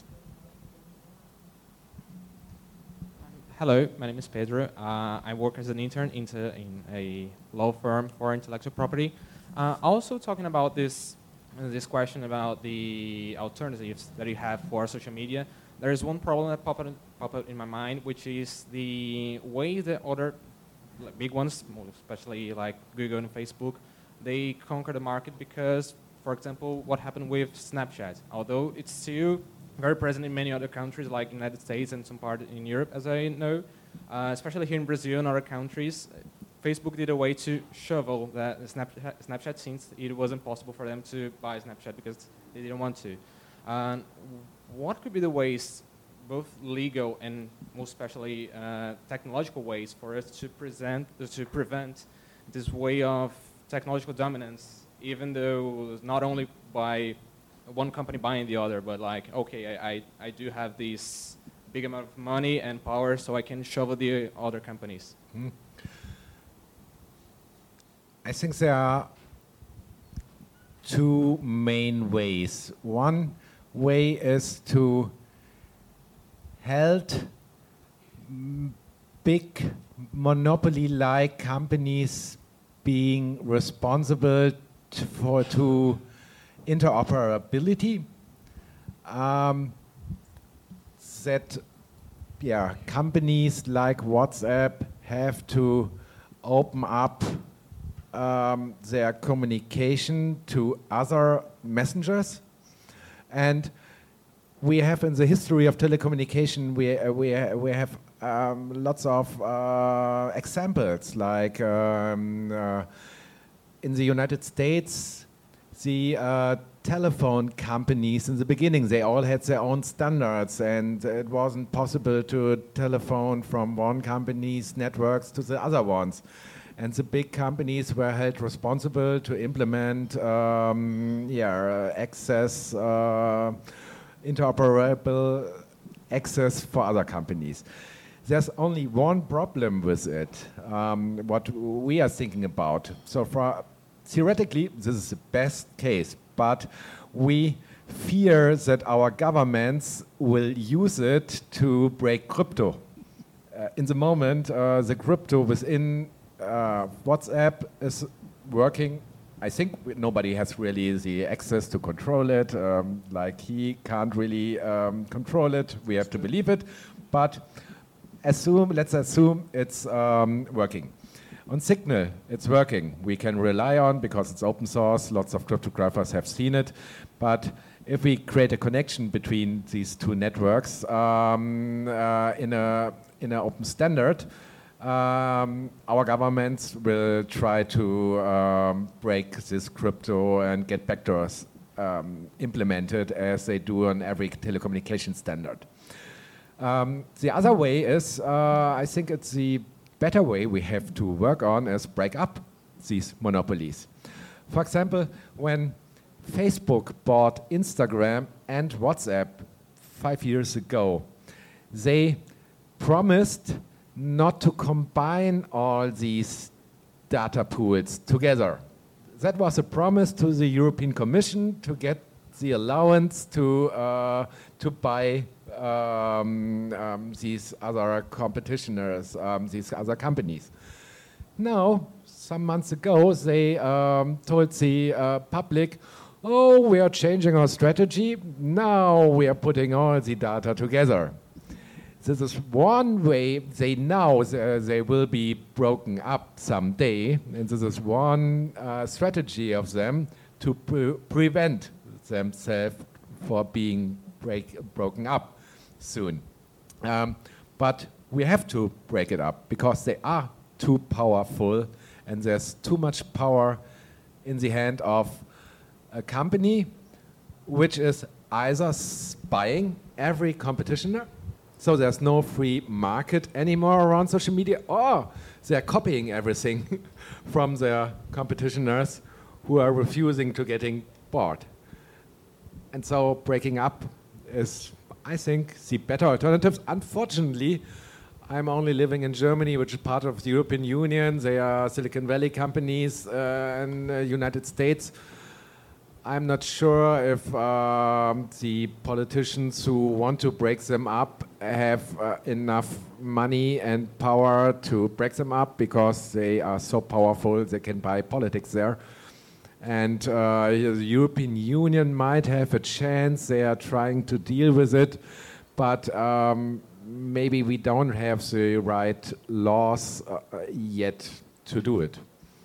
Hello, my name is Pedro. Uh, I work as an intern into, in a law firm for intellectual property. Uh, also talking about this, uh, this question about the alternatives that you have for social media, there is one problem that popped up, pop up in my mind, which is the way that other like, big ones, especially like Google and Facebook, they conquer the market because, for example, what happened with Snapchat. Although it's still very present in many other countries like United States and some part in Europe, as I know, uh, especially here in Brazil and other countries, Facebook did a way to shovel the Snapchat, Snapchat since it wasn't possible for them to buy Snapchat because they didn't want to. Uh, what could be the ways, both legal and most especially uh, technological ways, for us to present, uh, to prevent this way of technological dominance, even though not only by one company buying the other, but like, okay, I, I, I do have this big amount of money and power, so I can shovel the other companies. Hmm. I think there are two main ways. One way is to help big monopoly-like companies being responsible to, for to interoperability, um, that yeah, companies like WhatsApp have to open up um, their communication to other messengers. And we have in the history of telecommunication, we, uh, we, uh, we have um, lots of uh, examples, like um, uh, in the United States, the uh, telephone companies in the beginning, they all had their own standards, and it wasn't possible to telephone from one company's networks to the other ones. And the big companies were held responsible to implement um, yeah, access, uh, interoperable access for other companies. There's only one problem with it, um, what we are thinking about. So for theoretically, this is the best case, but we fear that our governments will use it to break crypto. Uh, in the moment, uh, the crypto within uh, WhatsApp is working. I think nobody has really the access to control it. Um, like he can't really um, control it. We have to believe it, but assume, let's assume it's um, working. On Signal, it's working. We can rely on because it's open source. Lots of cryptographers have seen it. But if we create a connection between these two networks um, uh, in a in an open standard, um, our governments will try to um, break this crypto and get backdoors um, implemented as they do on every telecommunication standard. Um, the other way is, uh, I think it's the better way we have to work on is break up these monopolies. For example, when Facebook bought Instagram and WhatsApp five years ago, they promised not to combine all these data pools together. That was a promise to the European Commission to get the allowance to, uh, to buy um, um, these other competitors, um, these other companies. Now, some months ago, they um, told the uh, public, oh, we are changing our strategy. Now we are putting all the data together. This is one way they know uh, they will be broken up someday, and this is one uh, strategy of them to pre prevent themselves for being break broken up soon. Um, but we have to break it up because they are too powerful, and there's too much power in the hand of a company which is either buying every competitor, so there's no free market anymore around social media, or they're copying everything from their competitors who are refusing to getting bought. And so breaking up is, I think, the better alternatives. Unfortunately, I'm only living in Germany, which is part of the European Union. They are Silicon Valley companies uh, in the United States. I'm not sure if um, the politicians who want to break them up have uh, enough money and power to break them up, because they are so powerful they can buy politics there. And uh, the European Union might have a chance. They are trying to deal with it, but um, maybe we don't have the right laws uh, yet to do it.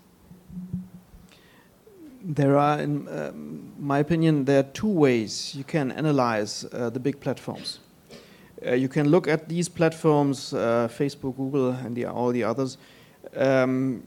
There are, in um, my opinion, there are two ways you can analyze uh, the big platforms. Uh, you can look at these platforms, uh, Facebook, Google, and the, all the others, um,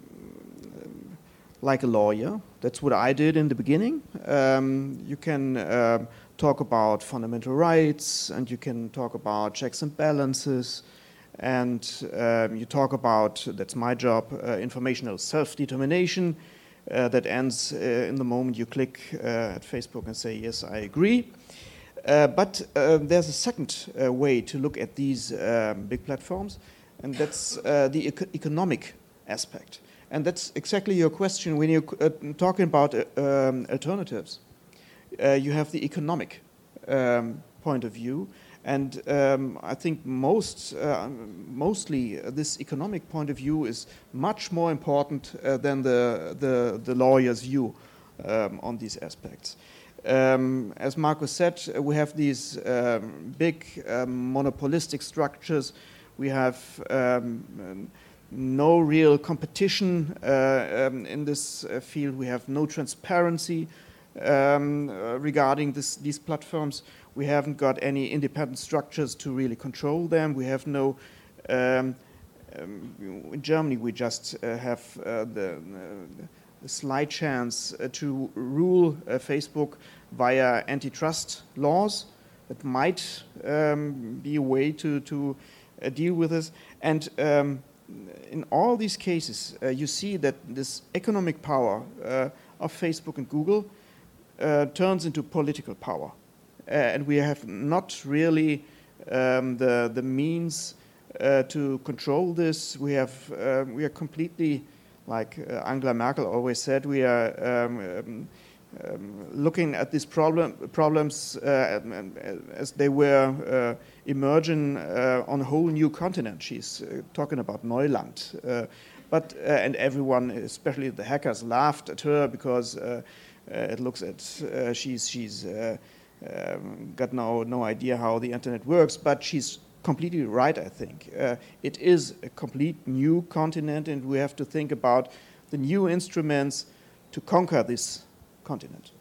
like a lawyer. That's what I did in the beginning. Um, you can uh, talk about fundamental rights, and you can talk about checks and balances, and um, you talk about, that's my job, uh, informational self-determination. Uh, that ends uh, in the moment you click uh, at Facebook and say, yes, I agree. Uh, but uh, there's a second uh, way to look at these um, big platforms, and that's uh, the eco economic aspect. And that's exactly your question when you're uh, talking about uh, um, alternatives. Uh, you have the economic um, point of view, and um, I think most, uh, mostly uh, this economic point of view is much more important uh, than the, the, the lawyer's view um, on these aspects. Um, as Markus said, uh, we have these um, big um, monopolistic structures. We have um, no real competition uh, um, in this uh, field. We have no transparency um, uh, regarding this, these platforms. We haven't got any independent structures to really control them. We have no, um, um, in Germany we just uh, have uh, the, uh, the slight chance uh, to rule uh, Facebook via antitrust laws. That might um, be a way to, to uh, deal with this. And um, in all these cases, uh, you see that this economic power uh, of Facebook and Google uh, turns into political power. Uh, and we have not really um, the the means uh, to control this. We have uh, we are completely, like uh, Angela Merkel always said, we are um, um, um, looking at these problem problems uh, as they were uh, emerging uh, on a whole new continent. She's uh, talking about Neuland, uh, but uh, and everyone, especially the hackers, laughed at her because uh, uh, it looks at uh, she's she's. Uh, Um, got no, no idea how the internet works, but she's completely right, I think. Uh, it is a complete new continent, and we have to think about the new instruments to conquer this continent.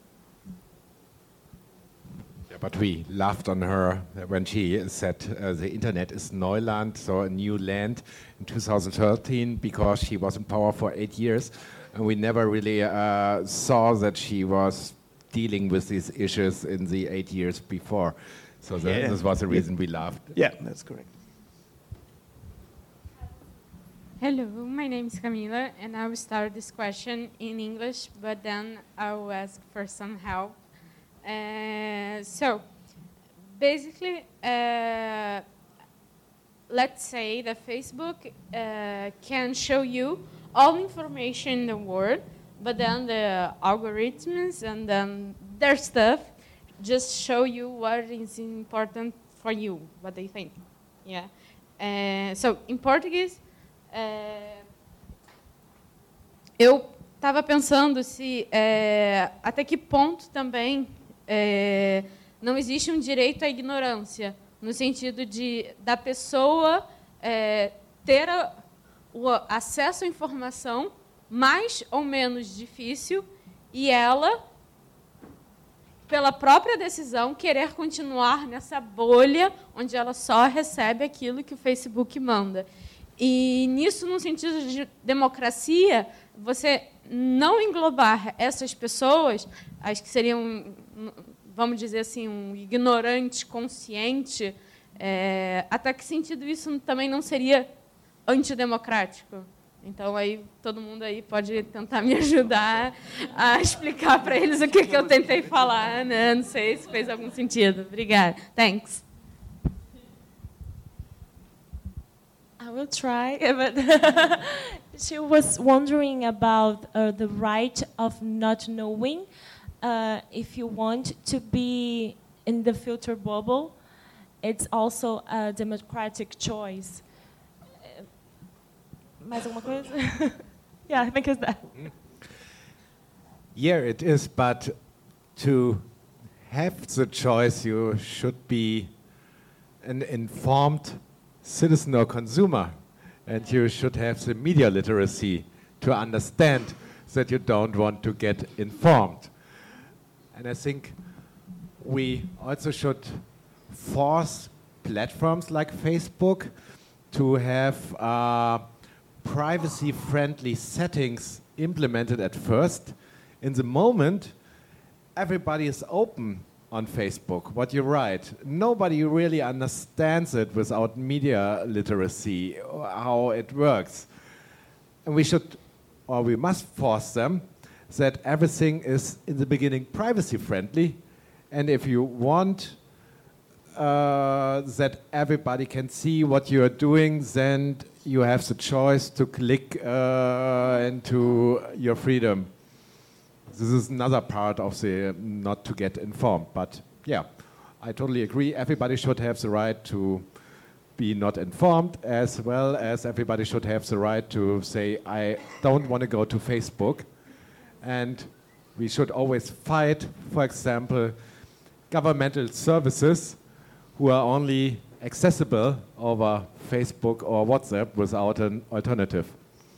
Yeah, but we laughed on her when she said uh, the internet is Neuland, so a new land, in two thousand thirteen, because she was in power for eight years, and we never really uh, saw that she was dealing with these issues in the eight years before. So the, yeah. this was the reason we laughed. Yeah, that's correct. Hello, my name is Camila, and I will start this question in English, but then I will ask for some help. Uh, so, basically, uh, let's say that Facebook uh, can show you all information in the world, but then the algorithms and then their stuff just show you what is important for you, what they think. Yeah. Uh, so, in Portuguese, É, eu estava pensando se é, até que ponto também é, não existe um direito à ignorância, no sentido de da pessoa é, ter a, o acesso à informação mais ou menos difícil e ela, pela própria decisão, querer continuar nessa bolha onde ela só recebe aquilo que o Facebook manda. E nisso, no sentido de democracia, você não englobar essas pessoas, as que seriam, vamos dizer assim, um ignorante consciente, é, até que sentido isso também não seria antidemocrático? Então, aí todo mundo aí pode tentar me ajudar a explicar para eles o que, que eu tentei falar, né? Não sei se fez algum sentido. Obrigada. Thanks. I will try, but she was wondering about uh, the right of not knowing uh, if you want to be in the filter bubble. It's also a democratic choice. Uh, mais alguma coisa? Yeah, I think it's that. Yeah, it is, but to have the choice, you should be an informed citizen or consumer, and you should have the media literacy to understand that you don't want to get informed. And I think we also should force platforms like Facebook to have uh, privacy-friendly settings implemented at first. In the moment, everybody is open on Facebook, what you write. Nobody really understands it without media literacy, how it works. And we should, or we must force them that everything is, in the beginning, privacy-friendly. And if you want uh, that everybody can see what you are doing, then you have the choice to click uh, into your freedom. This is another part of the not to get informed. But yeah, I totally agree. Everybody should have the right to be not informed, as well as everybody should have the right to say, I don't want to go to Facebook. And we should always fight, for example, governmental services who are only accessible over Facebook or WhatsApp without an alternative.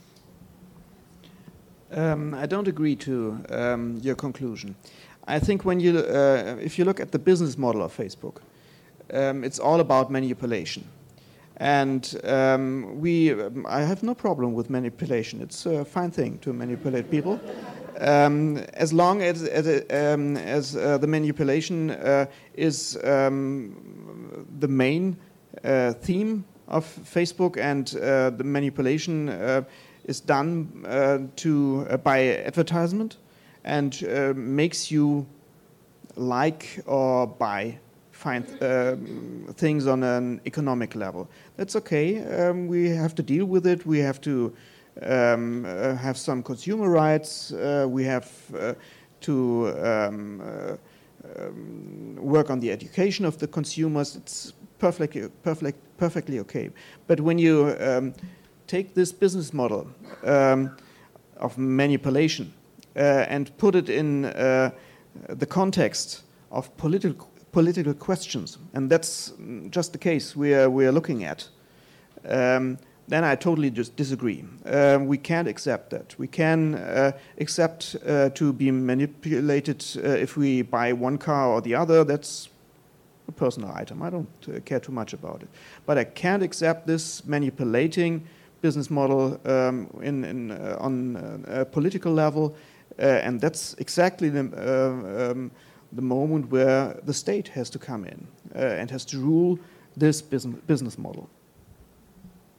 Um, I don't agree to um, your conclusion. I think when you, uh, if you look at the business model of Facebook, um, it's all about manipulation. And um, we, um, I have no problem with manipulation. It's a fine thing to manipulate people, um, as long as as, um, as uh, the manipulation uh, is um, the main uh, theme of Facebook, and uh, the manipulation uh, is done uh, to uh, by advertisement, and uh, makes you like or buy find uh, things on an economic level. That's okay. Um, we have to deal with it. We have to um, uh, have some consumer rights. Uh, we have uh, to um, uh, um, work on the education of the consumers. It's perfectly, perfect, perfectly okay. But when you um, take this business model um, of manipulation uh, and put it in uh, the context of political political questions, and that's just the case we are, we are looking at, um, then I totally just disagree. Uh, we can't accept that. We can uh, accept uh, to be manipulated uh, if we buy one car or the other. That's a personal item. I don't uh, care too much about it. But I can't accept this manipulating business model um, in, in, uh, on uh, a political level, uh, and that's exactly the uh, um, the moment where the state has to come in uh, and has to rule this business business model.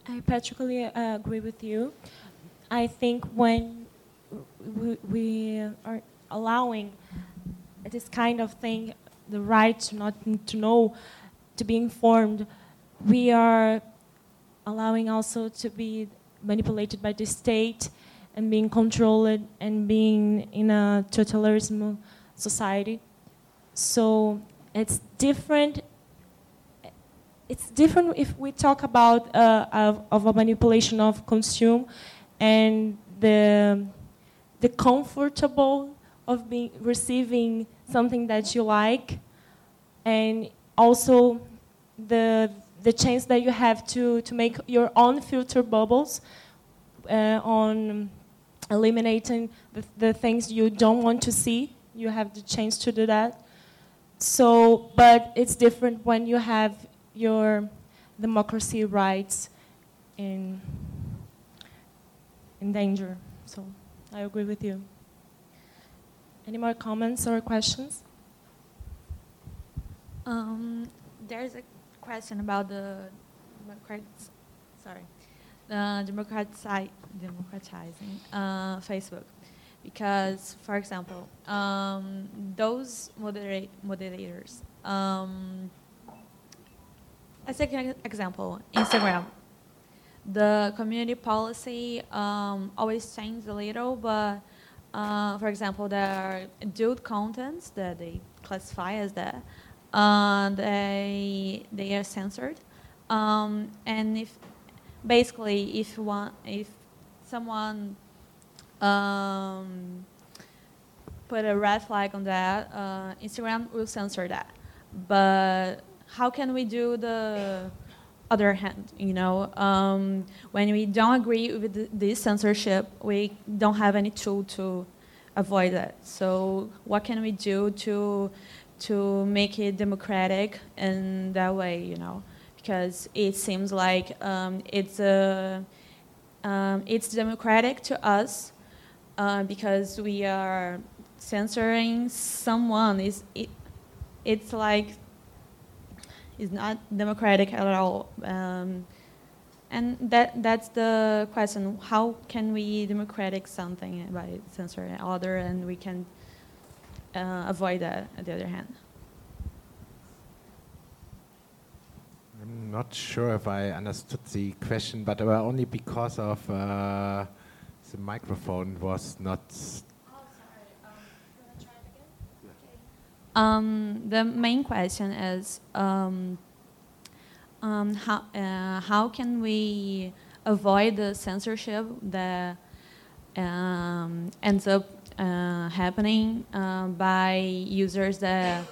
I particularly uh, agree with you. I think when we, we are allowing this kind of thing, the right to not to know, to be informed, we are allowing also to be manipulated by the state and being controlled and being in a totalitarian society. So it's different. It's different if we talk about uh, of, of a manipulation of consume and the the comfortable of being receiving something that you like, and also the the chance that you have to to make your own filter bubbles uh, on eliminating the, the things you don't want to see. You have the chance to do that. So, but it's different when you have your democracy rights in in danger. So, I agree with you. Any more comments or questions? Um, there's a question about the democrat, sorry, the democratizi democratizing uh, Facebook, because, for example, um, those moderate moderators. Um, let's take an example: Instagram. The community policy um, always changes a little, but uh, for example, there are adult contents that they classify as that. Uh, they they are censored, um, and if basically if one if someone um, put a red flag on that, uh, Instagram will censor that. But how can we do the other hand? You know, um, when we don't agree with the, this censorship, we don't have any tool to avoid that. So what can we do to to make it democratic in that way, you know, because it seems like um, it's a, um, it's democratic to us uh, because we are censoring someone. Is it? It's like it's not democratic at all, um, and that that's the question: how can we democratic something by censoring other, and we can Uh, avoid that, on the other hand? I'm not sure if I understood the question, but uh, only because of uh, the microphone was not. Oh, sorry. Um, you want to try it again? Okay. Um, the main question is um, um, how uh, how can we avoid the censorship that um, ends up Uh, happening uh, by users that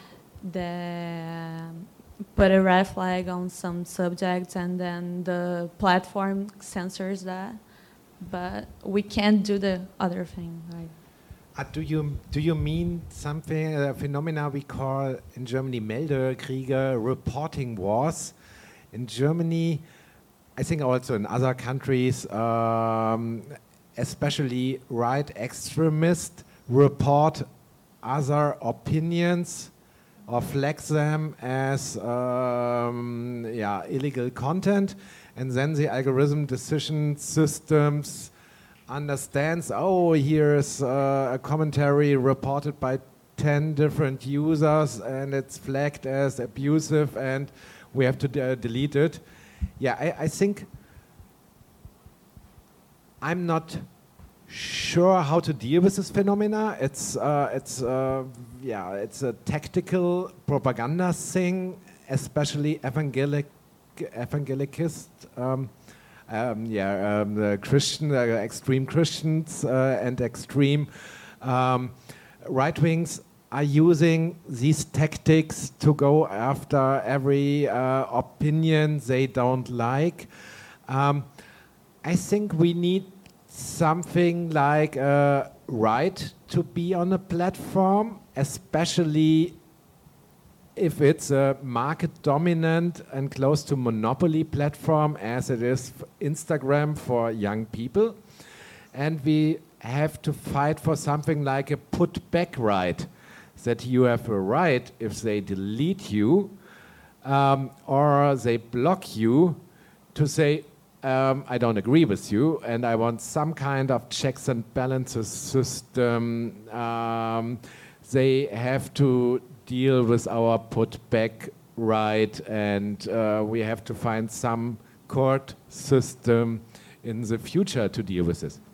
that put a red flag on some subjects and then the platform censors that, but we can't do the other thing, right? Uh, do you do you mean something a phenomena we call in Germany Meldekriege, reporting wars? In Germany, I think also in other countries. Um, especially right extremists report other opinions or flag them as um, yeah, illegal content, and then the algorithm decision systems understands, oh, here's uh, a commentary reported by ten different users and it's flagged as abusive and we have to de delete it. Yeah, I, I think I'm not sure how to deal with this phenomena. It's uh, it's uh, yeah, it's a tactical propaganda thing, especially evangelic evangelicist, um, um, yeah, um, the Christian, uh, extreme Christians uh, and extreme um, right wings are using these tactics to go after every uh, opinion they don't like. Um, I think we need something like a right to be on a platform, especially if it's a market dominant and close to monopoly platform as it is Instagram for young people. And we have to fight for something like a put back right, that you have a right if they delete you um, or they block you to say, um, I don't agree with you, and I want some kind of checks and balances system. Um, they have to deal with our put back right, and uh, we have to find some court system in the future to deal with this.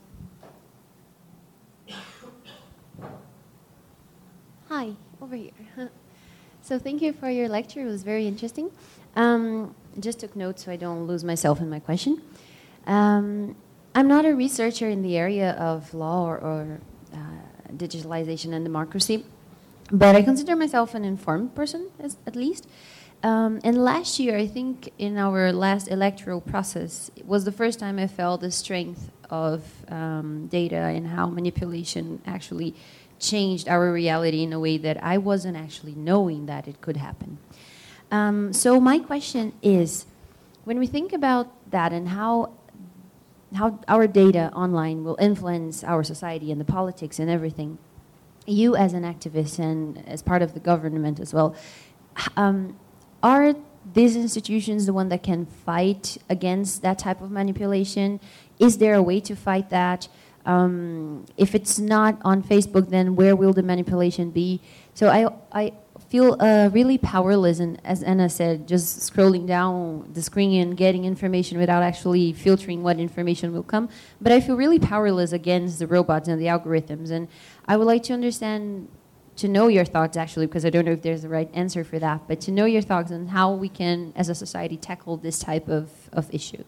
Hi, over here. So thank you for your lecture. It was very interesting. Um, just took notes so I don't lose myself in my question. Um, I'm not a researcher in the area of law or, or uh, digitalization and democracy, but I consider myself an informed person, as, at least. Um, and last year, I think in our last electoral process, it was the first time I felt the strength of um, data and how manipulation actually changed our reality in a way that I wasn't actually knowing that it could happen. Um, so my question is, when we think about that and how how our data online will influence our society and the politics and everything, you as an activist and as part of the government as well, um, are these institutions the one that can fight against that type of manipulation? Is there a way to fight that? Um, if it's not on Facebook, then where will the manipulation be? So I, I feel uh, really powerless, and as Anna said, just scrolling down the screen and getting information without actually filtering what information will come. But I feel really powerless against the robots and the algorithms, and I would like to understand, to know your thoughts actually, because I don't know if there's the right answer for that, but to know your thoughts on how we can, as a society, tackle this type of, of issue.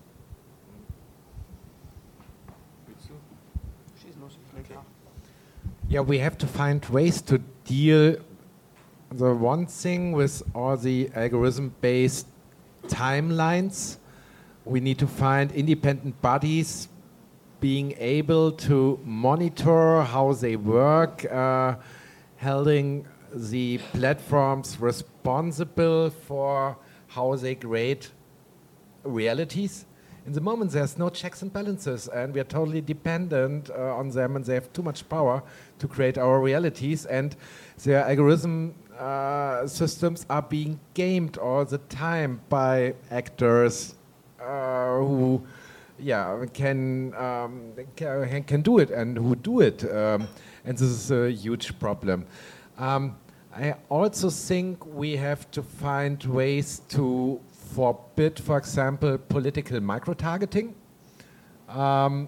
Yeah, we have to find ways to deal. The one thing with all the algorithm-based timelines, we need to find independent bodies being able to monitor how they work, uh, holding the platforms responsible for how they create realities. In the moment, there's no checks and balances, and we are totally dependent uh, on them, and they have too much power to create our realities, and their algorithm uh, systems are being gamed all the time by actors uh, who yeah, can, um, can, can do it and who do it, um, and this is a huge problem. Um, I also think we have to find ways to forbid, for example, political micro-targeting. Um,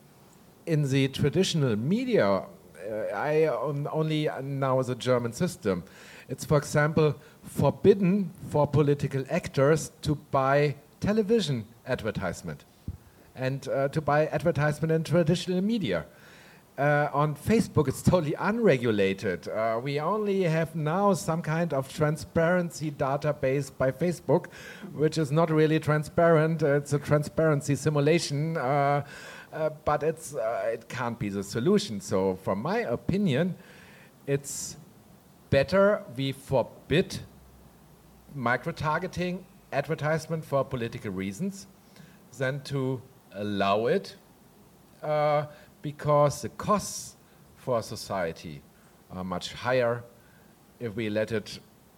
in the traditional media, uh, I um, only know the German system. It's, for example, forbidden for political actors to buy television advertisement and uh, to buy advertisement in traditional media. Uh, on Facebook, it's totally unregulated. Uh, we only have now some kind of transparency database by Facebook, which is not really transparent. Uh, it's a transparency simulation, uh, uh, but it's, uh, it can't be the solution. So from my opinion, it's better we forbid micro-targeting advertisement for political reasons than to allow it. Uh, because the costs for society are much higher if we let it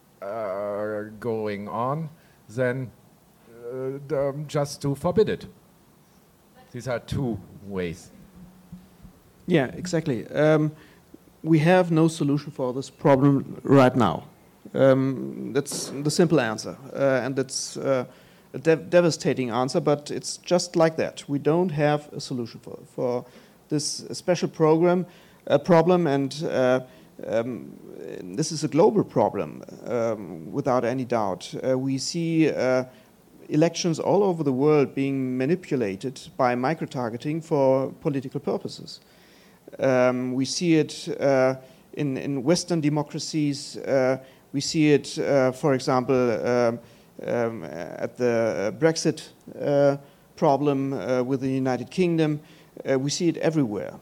uh, going on than uh, the, just to forbid it. These are two ways. Yeah, exactly. Um, we have no solution for this problem right now. Um, that's the simple answer, uh, and that's uh, a dev devastating answer, but it's just like that. We don't have a solution for for this special program, uh, problem, and uh, um, this is a global problem, um, without any doubt. Uh, we see uh, elections all over the world being manipulated by micro-targeting for political purposes. Um, we see it uh, in, in Western democracies. Uh, we see it, uh, for example, um, um, at the Brexit uh, problem uh, with the United Kingdom. Uh, we see it everywhere,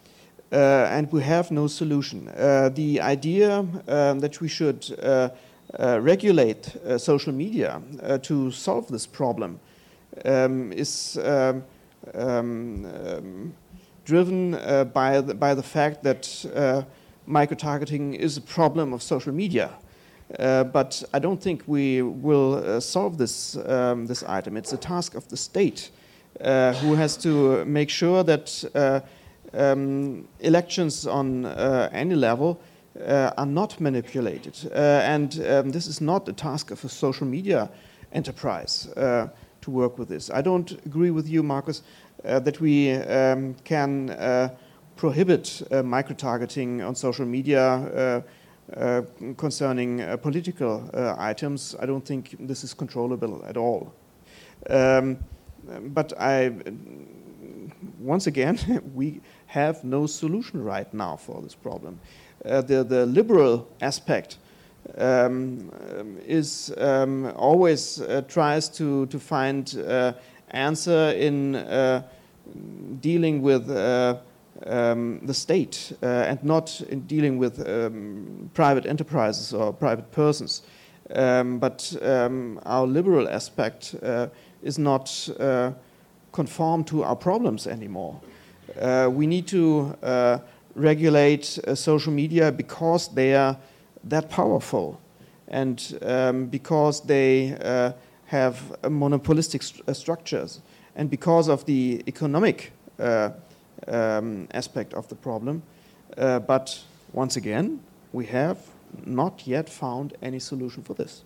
uh, and we have no solution. Uh, the idea um, that we should uh, uh, regulate uh, social media uh, to solve this problem um, is um, um, um, driven uh, by, the, by the fact that uh, micro-targeting is a problem of social media. Uh, but I don't think we will uh, solve this, um, this item. It's a task of the state uh, who has to make sure that uh, um, elections on uh, any level uh, are not manipulated. Uh, and um, this is not the task of a social media enterprise uh, to work with this. I don't agree with you, Markus, uh, that we um, can uh, prohibit uh, micro-targeting on social media uh, uh, concerning uh, political uh, items. I don't think this is controllable at all. Um, but I, once again, we have no solution right now for this problem. Uh, the, the liberal aspect um, um, is um, always uh, tries to, to find uh, answer in uh, dealing with uh, Um, the state uh, and not in dealing with um, private enterprises or private persons. Um, but um, our liberal aspect uh, is not uh, conform to our problems anymore. Uh, we need to uh, regulate uh, social media because they are that powerful and um, because they uh, have uh, monopolistic st uh, structures and because of the economic uh, Um, aspect of the problem. Uh, but once again, we have not yet found any solution for this.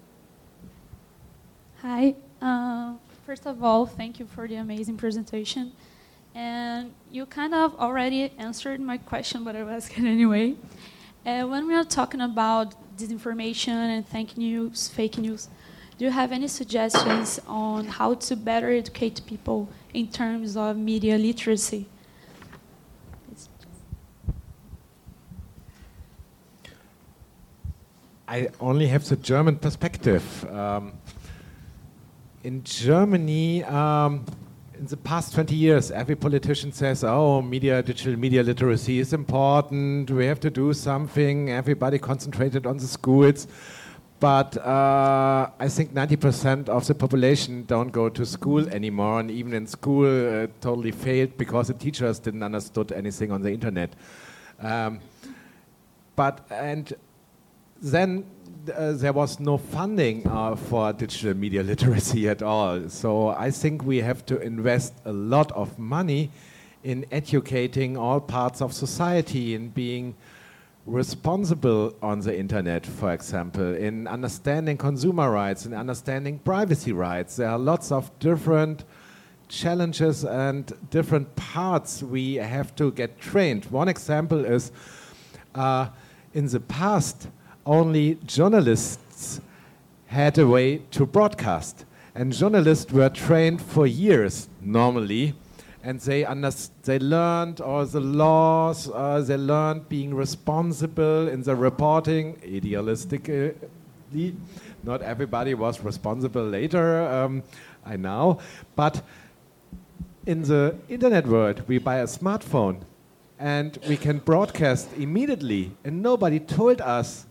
Hi. Uh, first of all, thank you for the amazing presentation. And you kind of already answered my question, but I'll ask it anyway. Uh, when we are talking about disinformation and fake news, fake news, do you have any suggestions on how to better educate people in terms of media literacy? I only have the German perspective. Um, in Germany, um, in the past twenty years, every politician says, oh, media, digital media literacy is important, we have to do something, everybody concentrated on the schools. But uh, I think ninety percent of the population don't go to school anymore, and even in school uh, totally failed because the teachers didn't understood anything on the internet. Um, but, and then uh, there was no funding uh, for digital media literacy at all. So I think we have to invest a lot of money in educating all parts of society, in being responsible on the internet, for example, in understanding consumer rights, in understanding privacy rights. There are lots of different challenges and different parts we have to get trained. One example is uh, in the past, only journalists had a way to broadcast. And journalists were trained for years, normally, and they, they learned all the laws, uh, they learned being responsible in the reporting, idealistically. Not everybody was responsible later, um, I know. But in the internet world, we buy a smartphone, and we can broadcast immediately, and nobody told us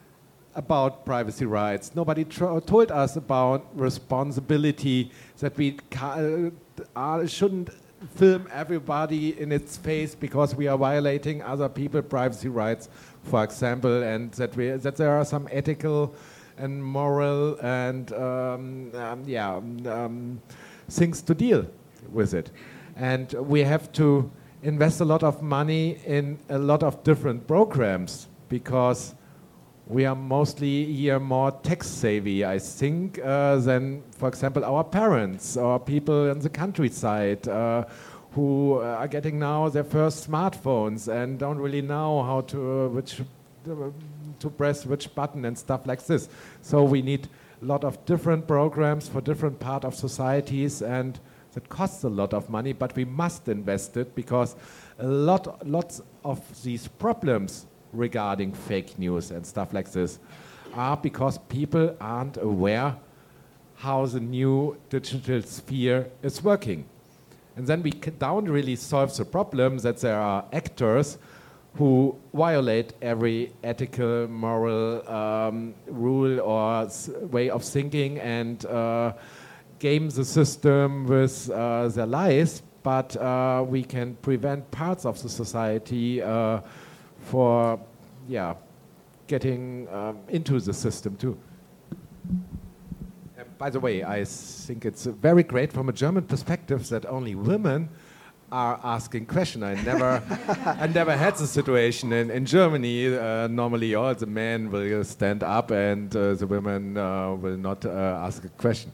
about privacy rights. Nobody told us about responsibility, that we ca uh, shouldn't film everybody in its face because we are violating other people's privacy rights, for example, and that, we, that there are some ethical and moral and um, um, yeah, um, things to deal with it. And we have to invest a lot of money in a lot of different programs because we are mostly here more tech-savvy, I think, uh, than, for example, our parents or people in the countryside uh, who are getting now their first smartphones and don't really know how to uh, which uh, to press which button and stuff like this. So we need a lot of different programs for different part of societies, and that costs a lot of money, but we must invest it because a lot, lots of these problems regarding fake news and stuff like this are because people aren't aware how the new digital sphere is working. And then we don't really solve the problem that there are actors who violate every ethical, moral um, rule or way of thinking and uh, game the system with uh, their lies, but uh, we can prevent parts of the society uh, for, yeah, getting um, into the system too. by the way, I think it's very great from a German perspective that only women are asking questions. I never, I never had the situation in, in Germany. Uh, normally, all the men will stand up and uh, the women uh, will not uh, ask a question.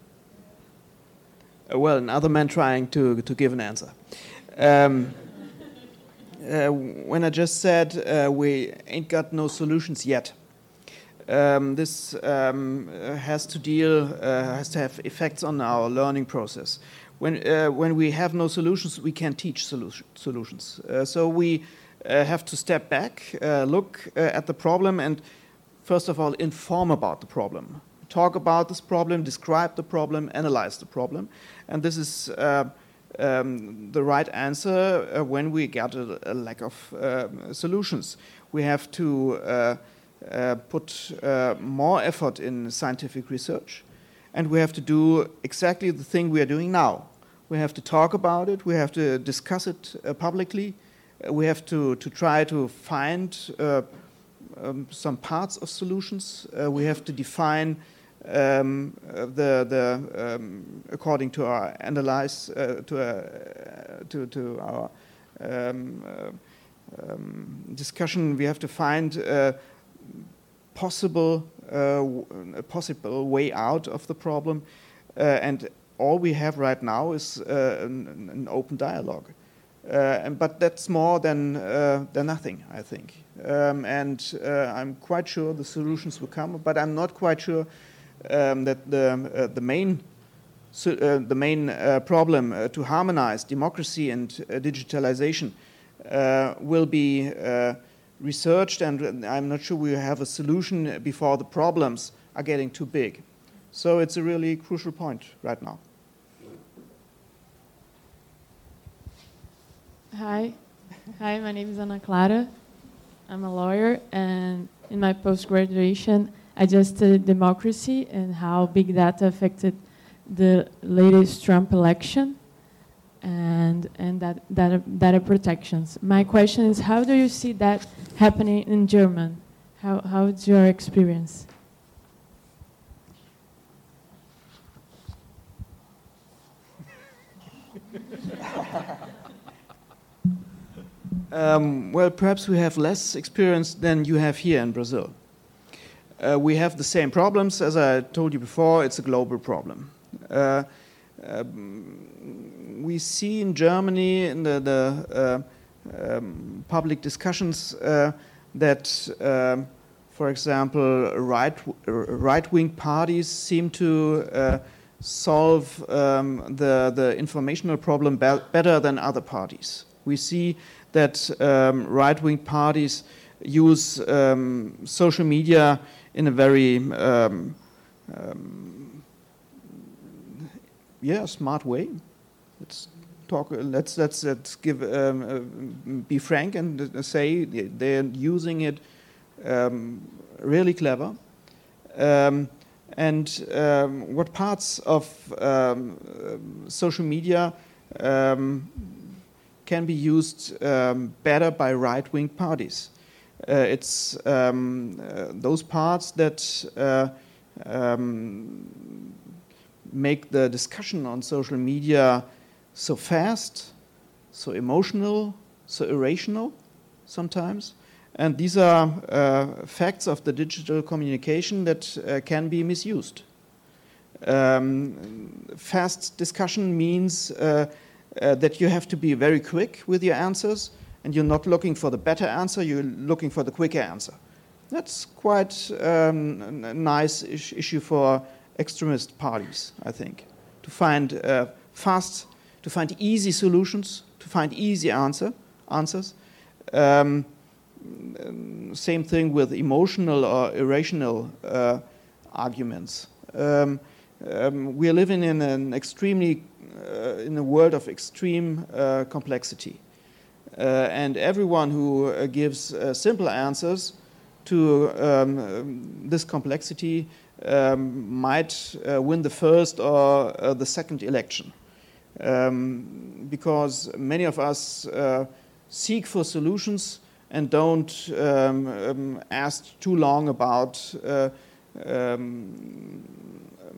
Uh, well, another man trying to, to give an answer. Um, uh, when I just said uh, we ain't got no solutions yet, um, this um, has to deal, uh, has to have effects on our learning process. When, uh, when we have no solutions, we can't teach solution, solutions. Uh, so we uh, have to step back, uh, look uh, at the problem, and first of all, inform about the problem. Talk about this problem, describe the problem, analyze the problem. And this is uh, um, the right answer uh, when we get a, a lack of uh, solutions. We have to uh, uh, put uh, more effort in scientific research, and we have to do exactly the thing we are doing now. We have to talk about it, we have to discuss it uh, publicly, uh, we have to, to try to find uh, um, some parts of solutions, uh, we have to define um, uh, the, the um, according to our analyze, uh, to, uh, to, to our um, uh, um, discussion, we have to find uh, possible, uh, a possible way out of the problem, uh, and all we have right now is uh, an, an open dialogue. Uh, and, but that's more than, uh, than nothing, I think. Um, and uh, I'm quite sure the solutions will come, but I'm not quite sure um, that the, uh, the main, so, uh, the main uh, problem uh, to harmonize democracy and uh, digitalization uh, will be uh, researched, and I'm not sure we have a solution before the problems are getting too big. So it's a really crucial point right now. Hi. Hi, my name is Ana Clara. I'm a lawyer, and in my post-graduation, I just studied democracy and how big data affected the latest Trump election and, and that data, data protections. My question is, how do you see that happening in Germany? How, how's your experience? Um, well, perhaps we have less experience than you have here in Brazil. Uh, we have the same problems. As I told you before, it's a global problem. Uh, um, we see in Germany, in the, the uh, um, public discussions, uh, that, um, for example, right, right-wing parties seem to uh, solve um, the, the informational problem be better than other parties. We see that um, right-wing parties use um, social media in a very um, um, yeah, smart way. Let's talk. Let's let's let's give um, uh, be frank and uh, say they're using it um, really clever. Um, and um, what parts of um, uh, social media um, can be used um, better by right-wing parties. Uh, it's um, uh, those parts that uh, um, make the discussion on social media so fast, so emotional, so irrational sometimes. And these are uh, facts of the digital communication that uh, can be misused. Um, fast discussion means uh, Uh, that you have to be very quick with your answers, and you're not looking for the better answer, you're looking for the quicker answer. That's quite um, a nice is issue for extremist parties, I think, to find uh, fast, to find easy solutions, to find easy answer, answers. Um, same thing with emotional or irrational uh, arguments. Um, um, we are living in an extremely Uh, in a world of extreme uh, complexity. Uh, and everyone who uh, gives uh, simple answers to um, um, this complexity um, might uh, win the first or uh, the second election. Um, because many of us uh, seek for solutions and don't um, um, ask too long about uh, um,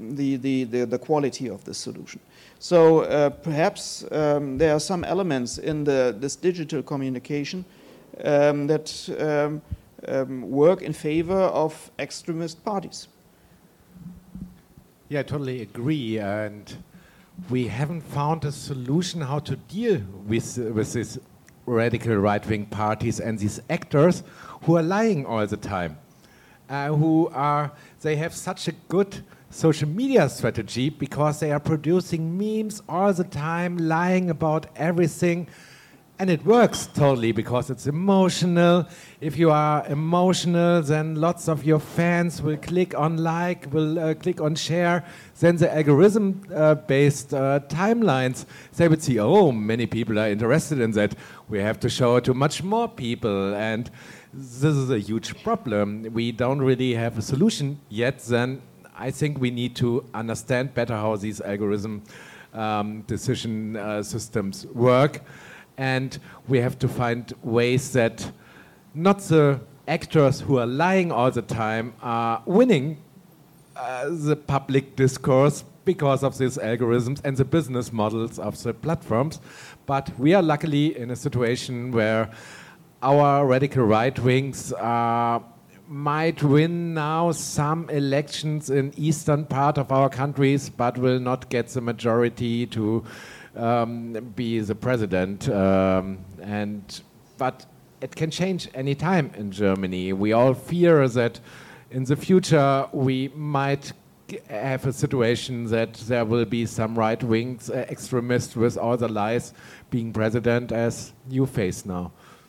the, the, the, the quality of the solution. So uh, perhaps um, there are some elements in the, this digital communication um, that um, um, work in favor of extremist parties. Yeah, I totally agree. And we haven't found a solution how to deal with, uh, with these radical right-wing parties and these actors who are lying all the time. Uh, who are, they have such a good social media strategy because they are producing memes all the time, lying about everything. And it works totally because it's emotional. If you are emotional, then lots of your fans will click on like, will uh, click on share. Then the algorithm-based uh, uh, timelines, they would see, oh, many people are interested in that. We have to show it to much more people. And this is a huge problem. We don't really have a solution yet. Then I think we need to understand better how these algorithm um, decision uh, systems work. And we have to find ways that not the actors who are lying all the time are winning uh, the public discourse because of these algorithms and the business models of the platforms. But we are luckily in a situation where our radical right wings uh, might win now some elections in eastern part of our countries, but will not get the majority to Um, be the president, um, and but it can change any time in Germany. We all fear that in the future we might have a situation that there will be some right-wing uh, extremists with all the lies being president as you face now.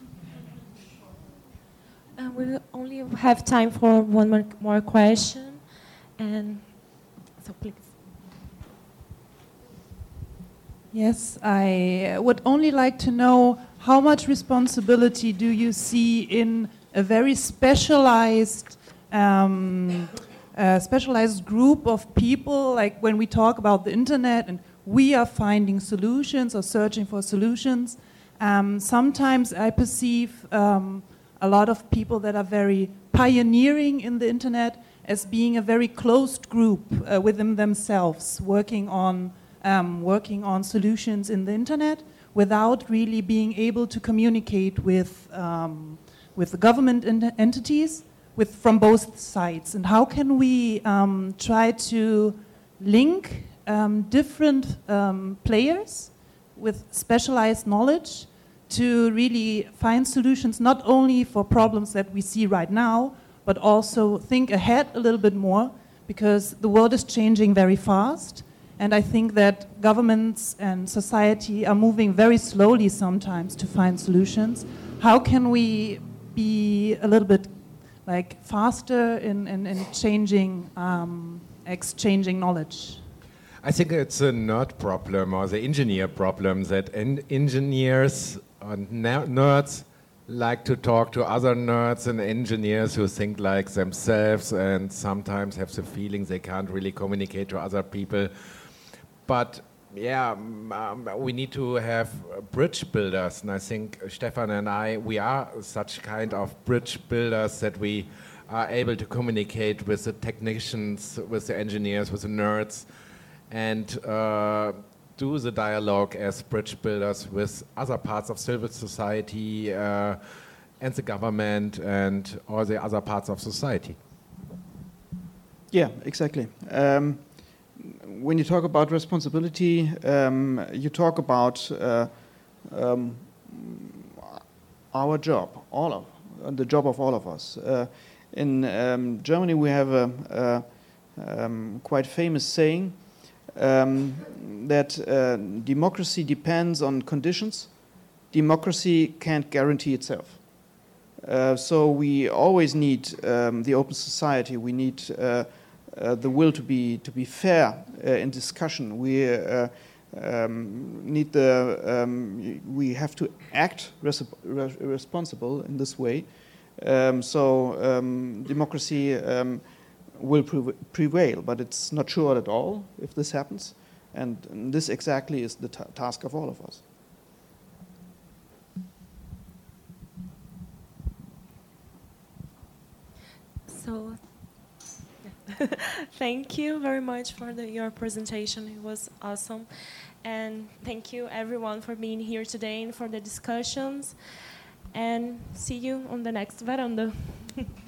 Uh, we will only have time for one more, more question, and so please. Yes, I would only like to know how much responsibility do you see in a very specialized, um, uh, specialized group of people, like when we talk about the internet and we are finding solutions or searching for solutions. Um, sometimes I perceive um, a lot of people that are very pioneering in the internet as being a very closed group uh, within themselves, working on Um, working on solutions in the internet without really being able to communicate with um, with the government ent entities with from both sides. And how can we um, try to link um, different um, players with specialized knowledge to really find solutions not only for problems that we see right now, but also think ahead a little bit more, because the world is changing very fast. And I think that governments and society are moving very slowly sometimes to find solutions. How can we be a little bit like faster in, in, in changing, um, exchanging knowledge? I think it's a nerd problem or the engineer problem that en engineers and nerds like to talk to other nerds and engineers who think like themselves and sometimes have the feeling they can't really communicate to other people. But yeah, um, we need to have bridge builders, and I think Stefan and I, we are such kind of bridge builders that we are able to communicate with the technicians, with the engineers, with the nerds, and uh, do the dialogue as bridge builders with other parts of civil society uh, and the government and all the other parts of society. Yeah, exactly. Um, When you talk about responsibility, um, you talk about uh, um, our job, all of uh, the job of all of us. Uh, in um, Germany, we have a, a um, quite famous saying um, that uh, democracy depends on conditions. Democracy can't guarantee itself. Uh, so we always need um, the open society. We need uh, Uh, the will to be to be fair uh, in discussion. We uh, um, need the um, we have to act res responsible in this way. Um, so um, democracy um, will pre prevail, but it's not sure at all if this happens. And, and this exactly is the ta task of all of us. So. Thank you very much for the, your presentation. It was awesome. And thank you, everyone, for being here today and for the discussions. And see you on the next Varanda.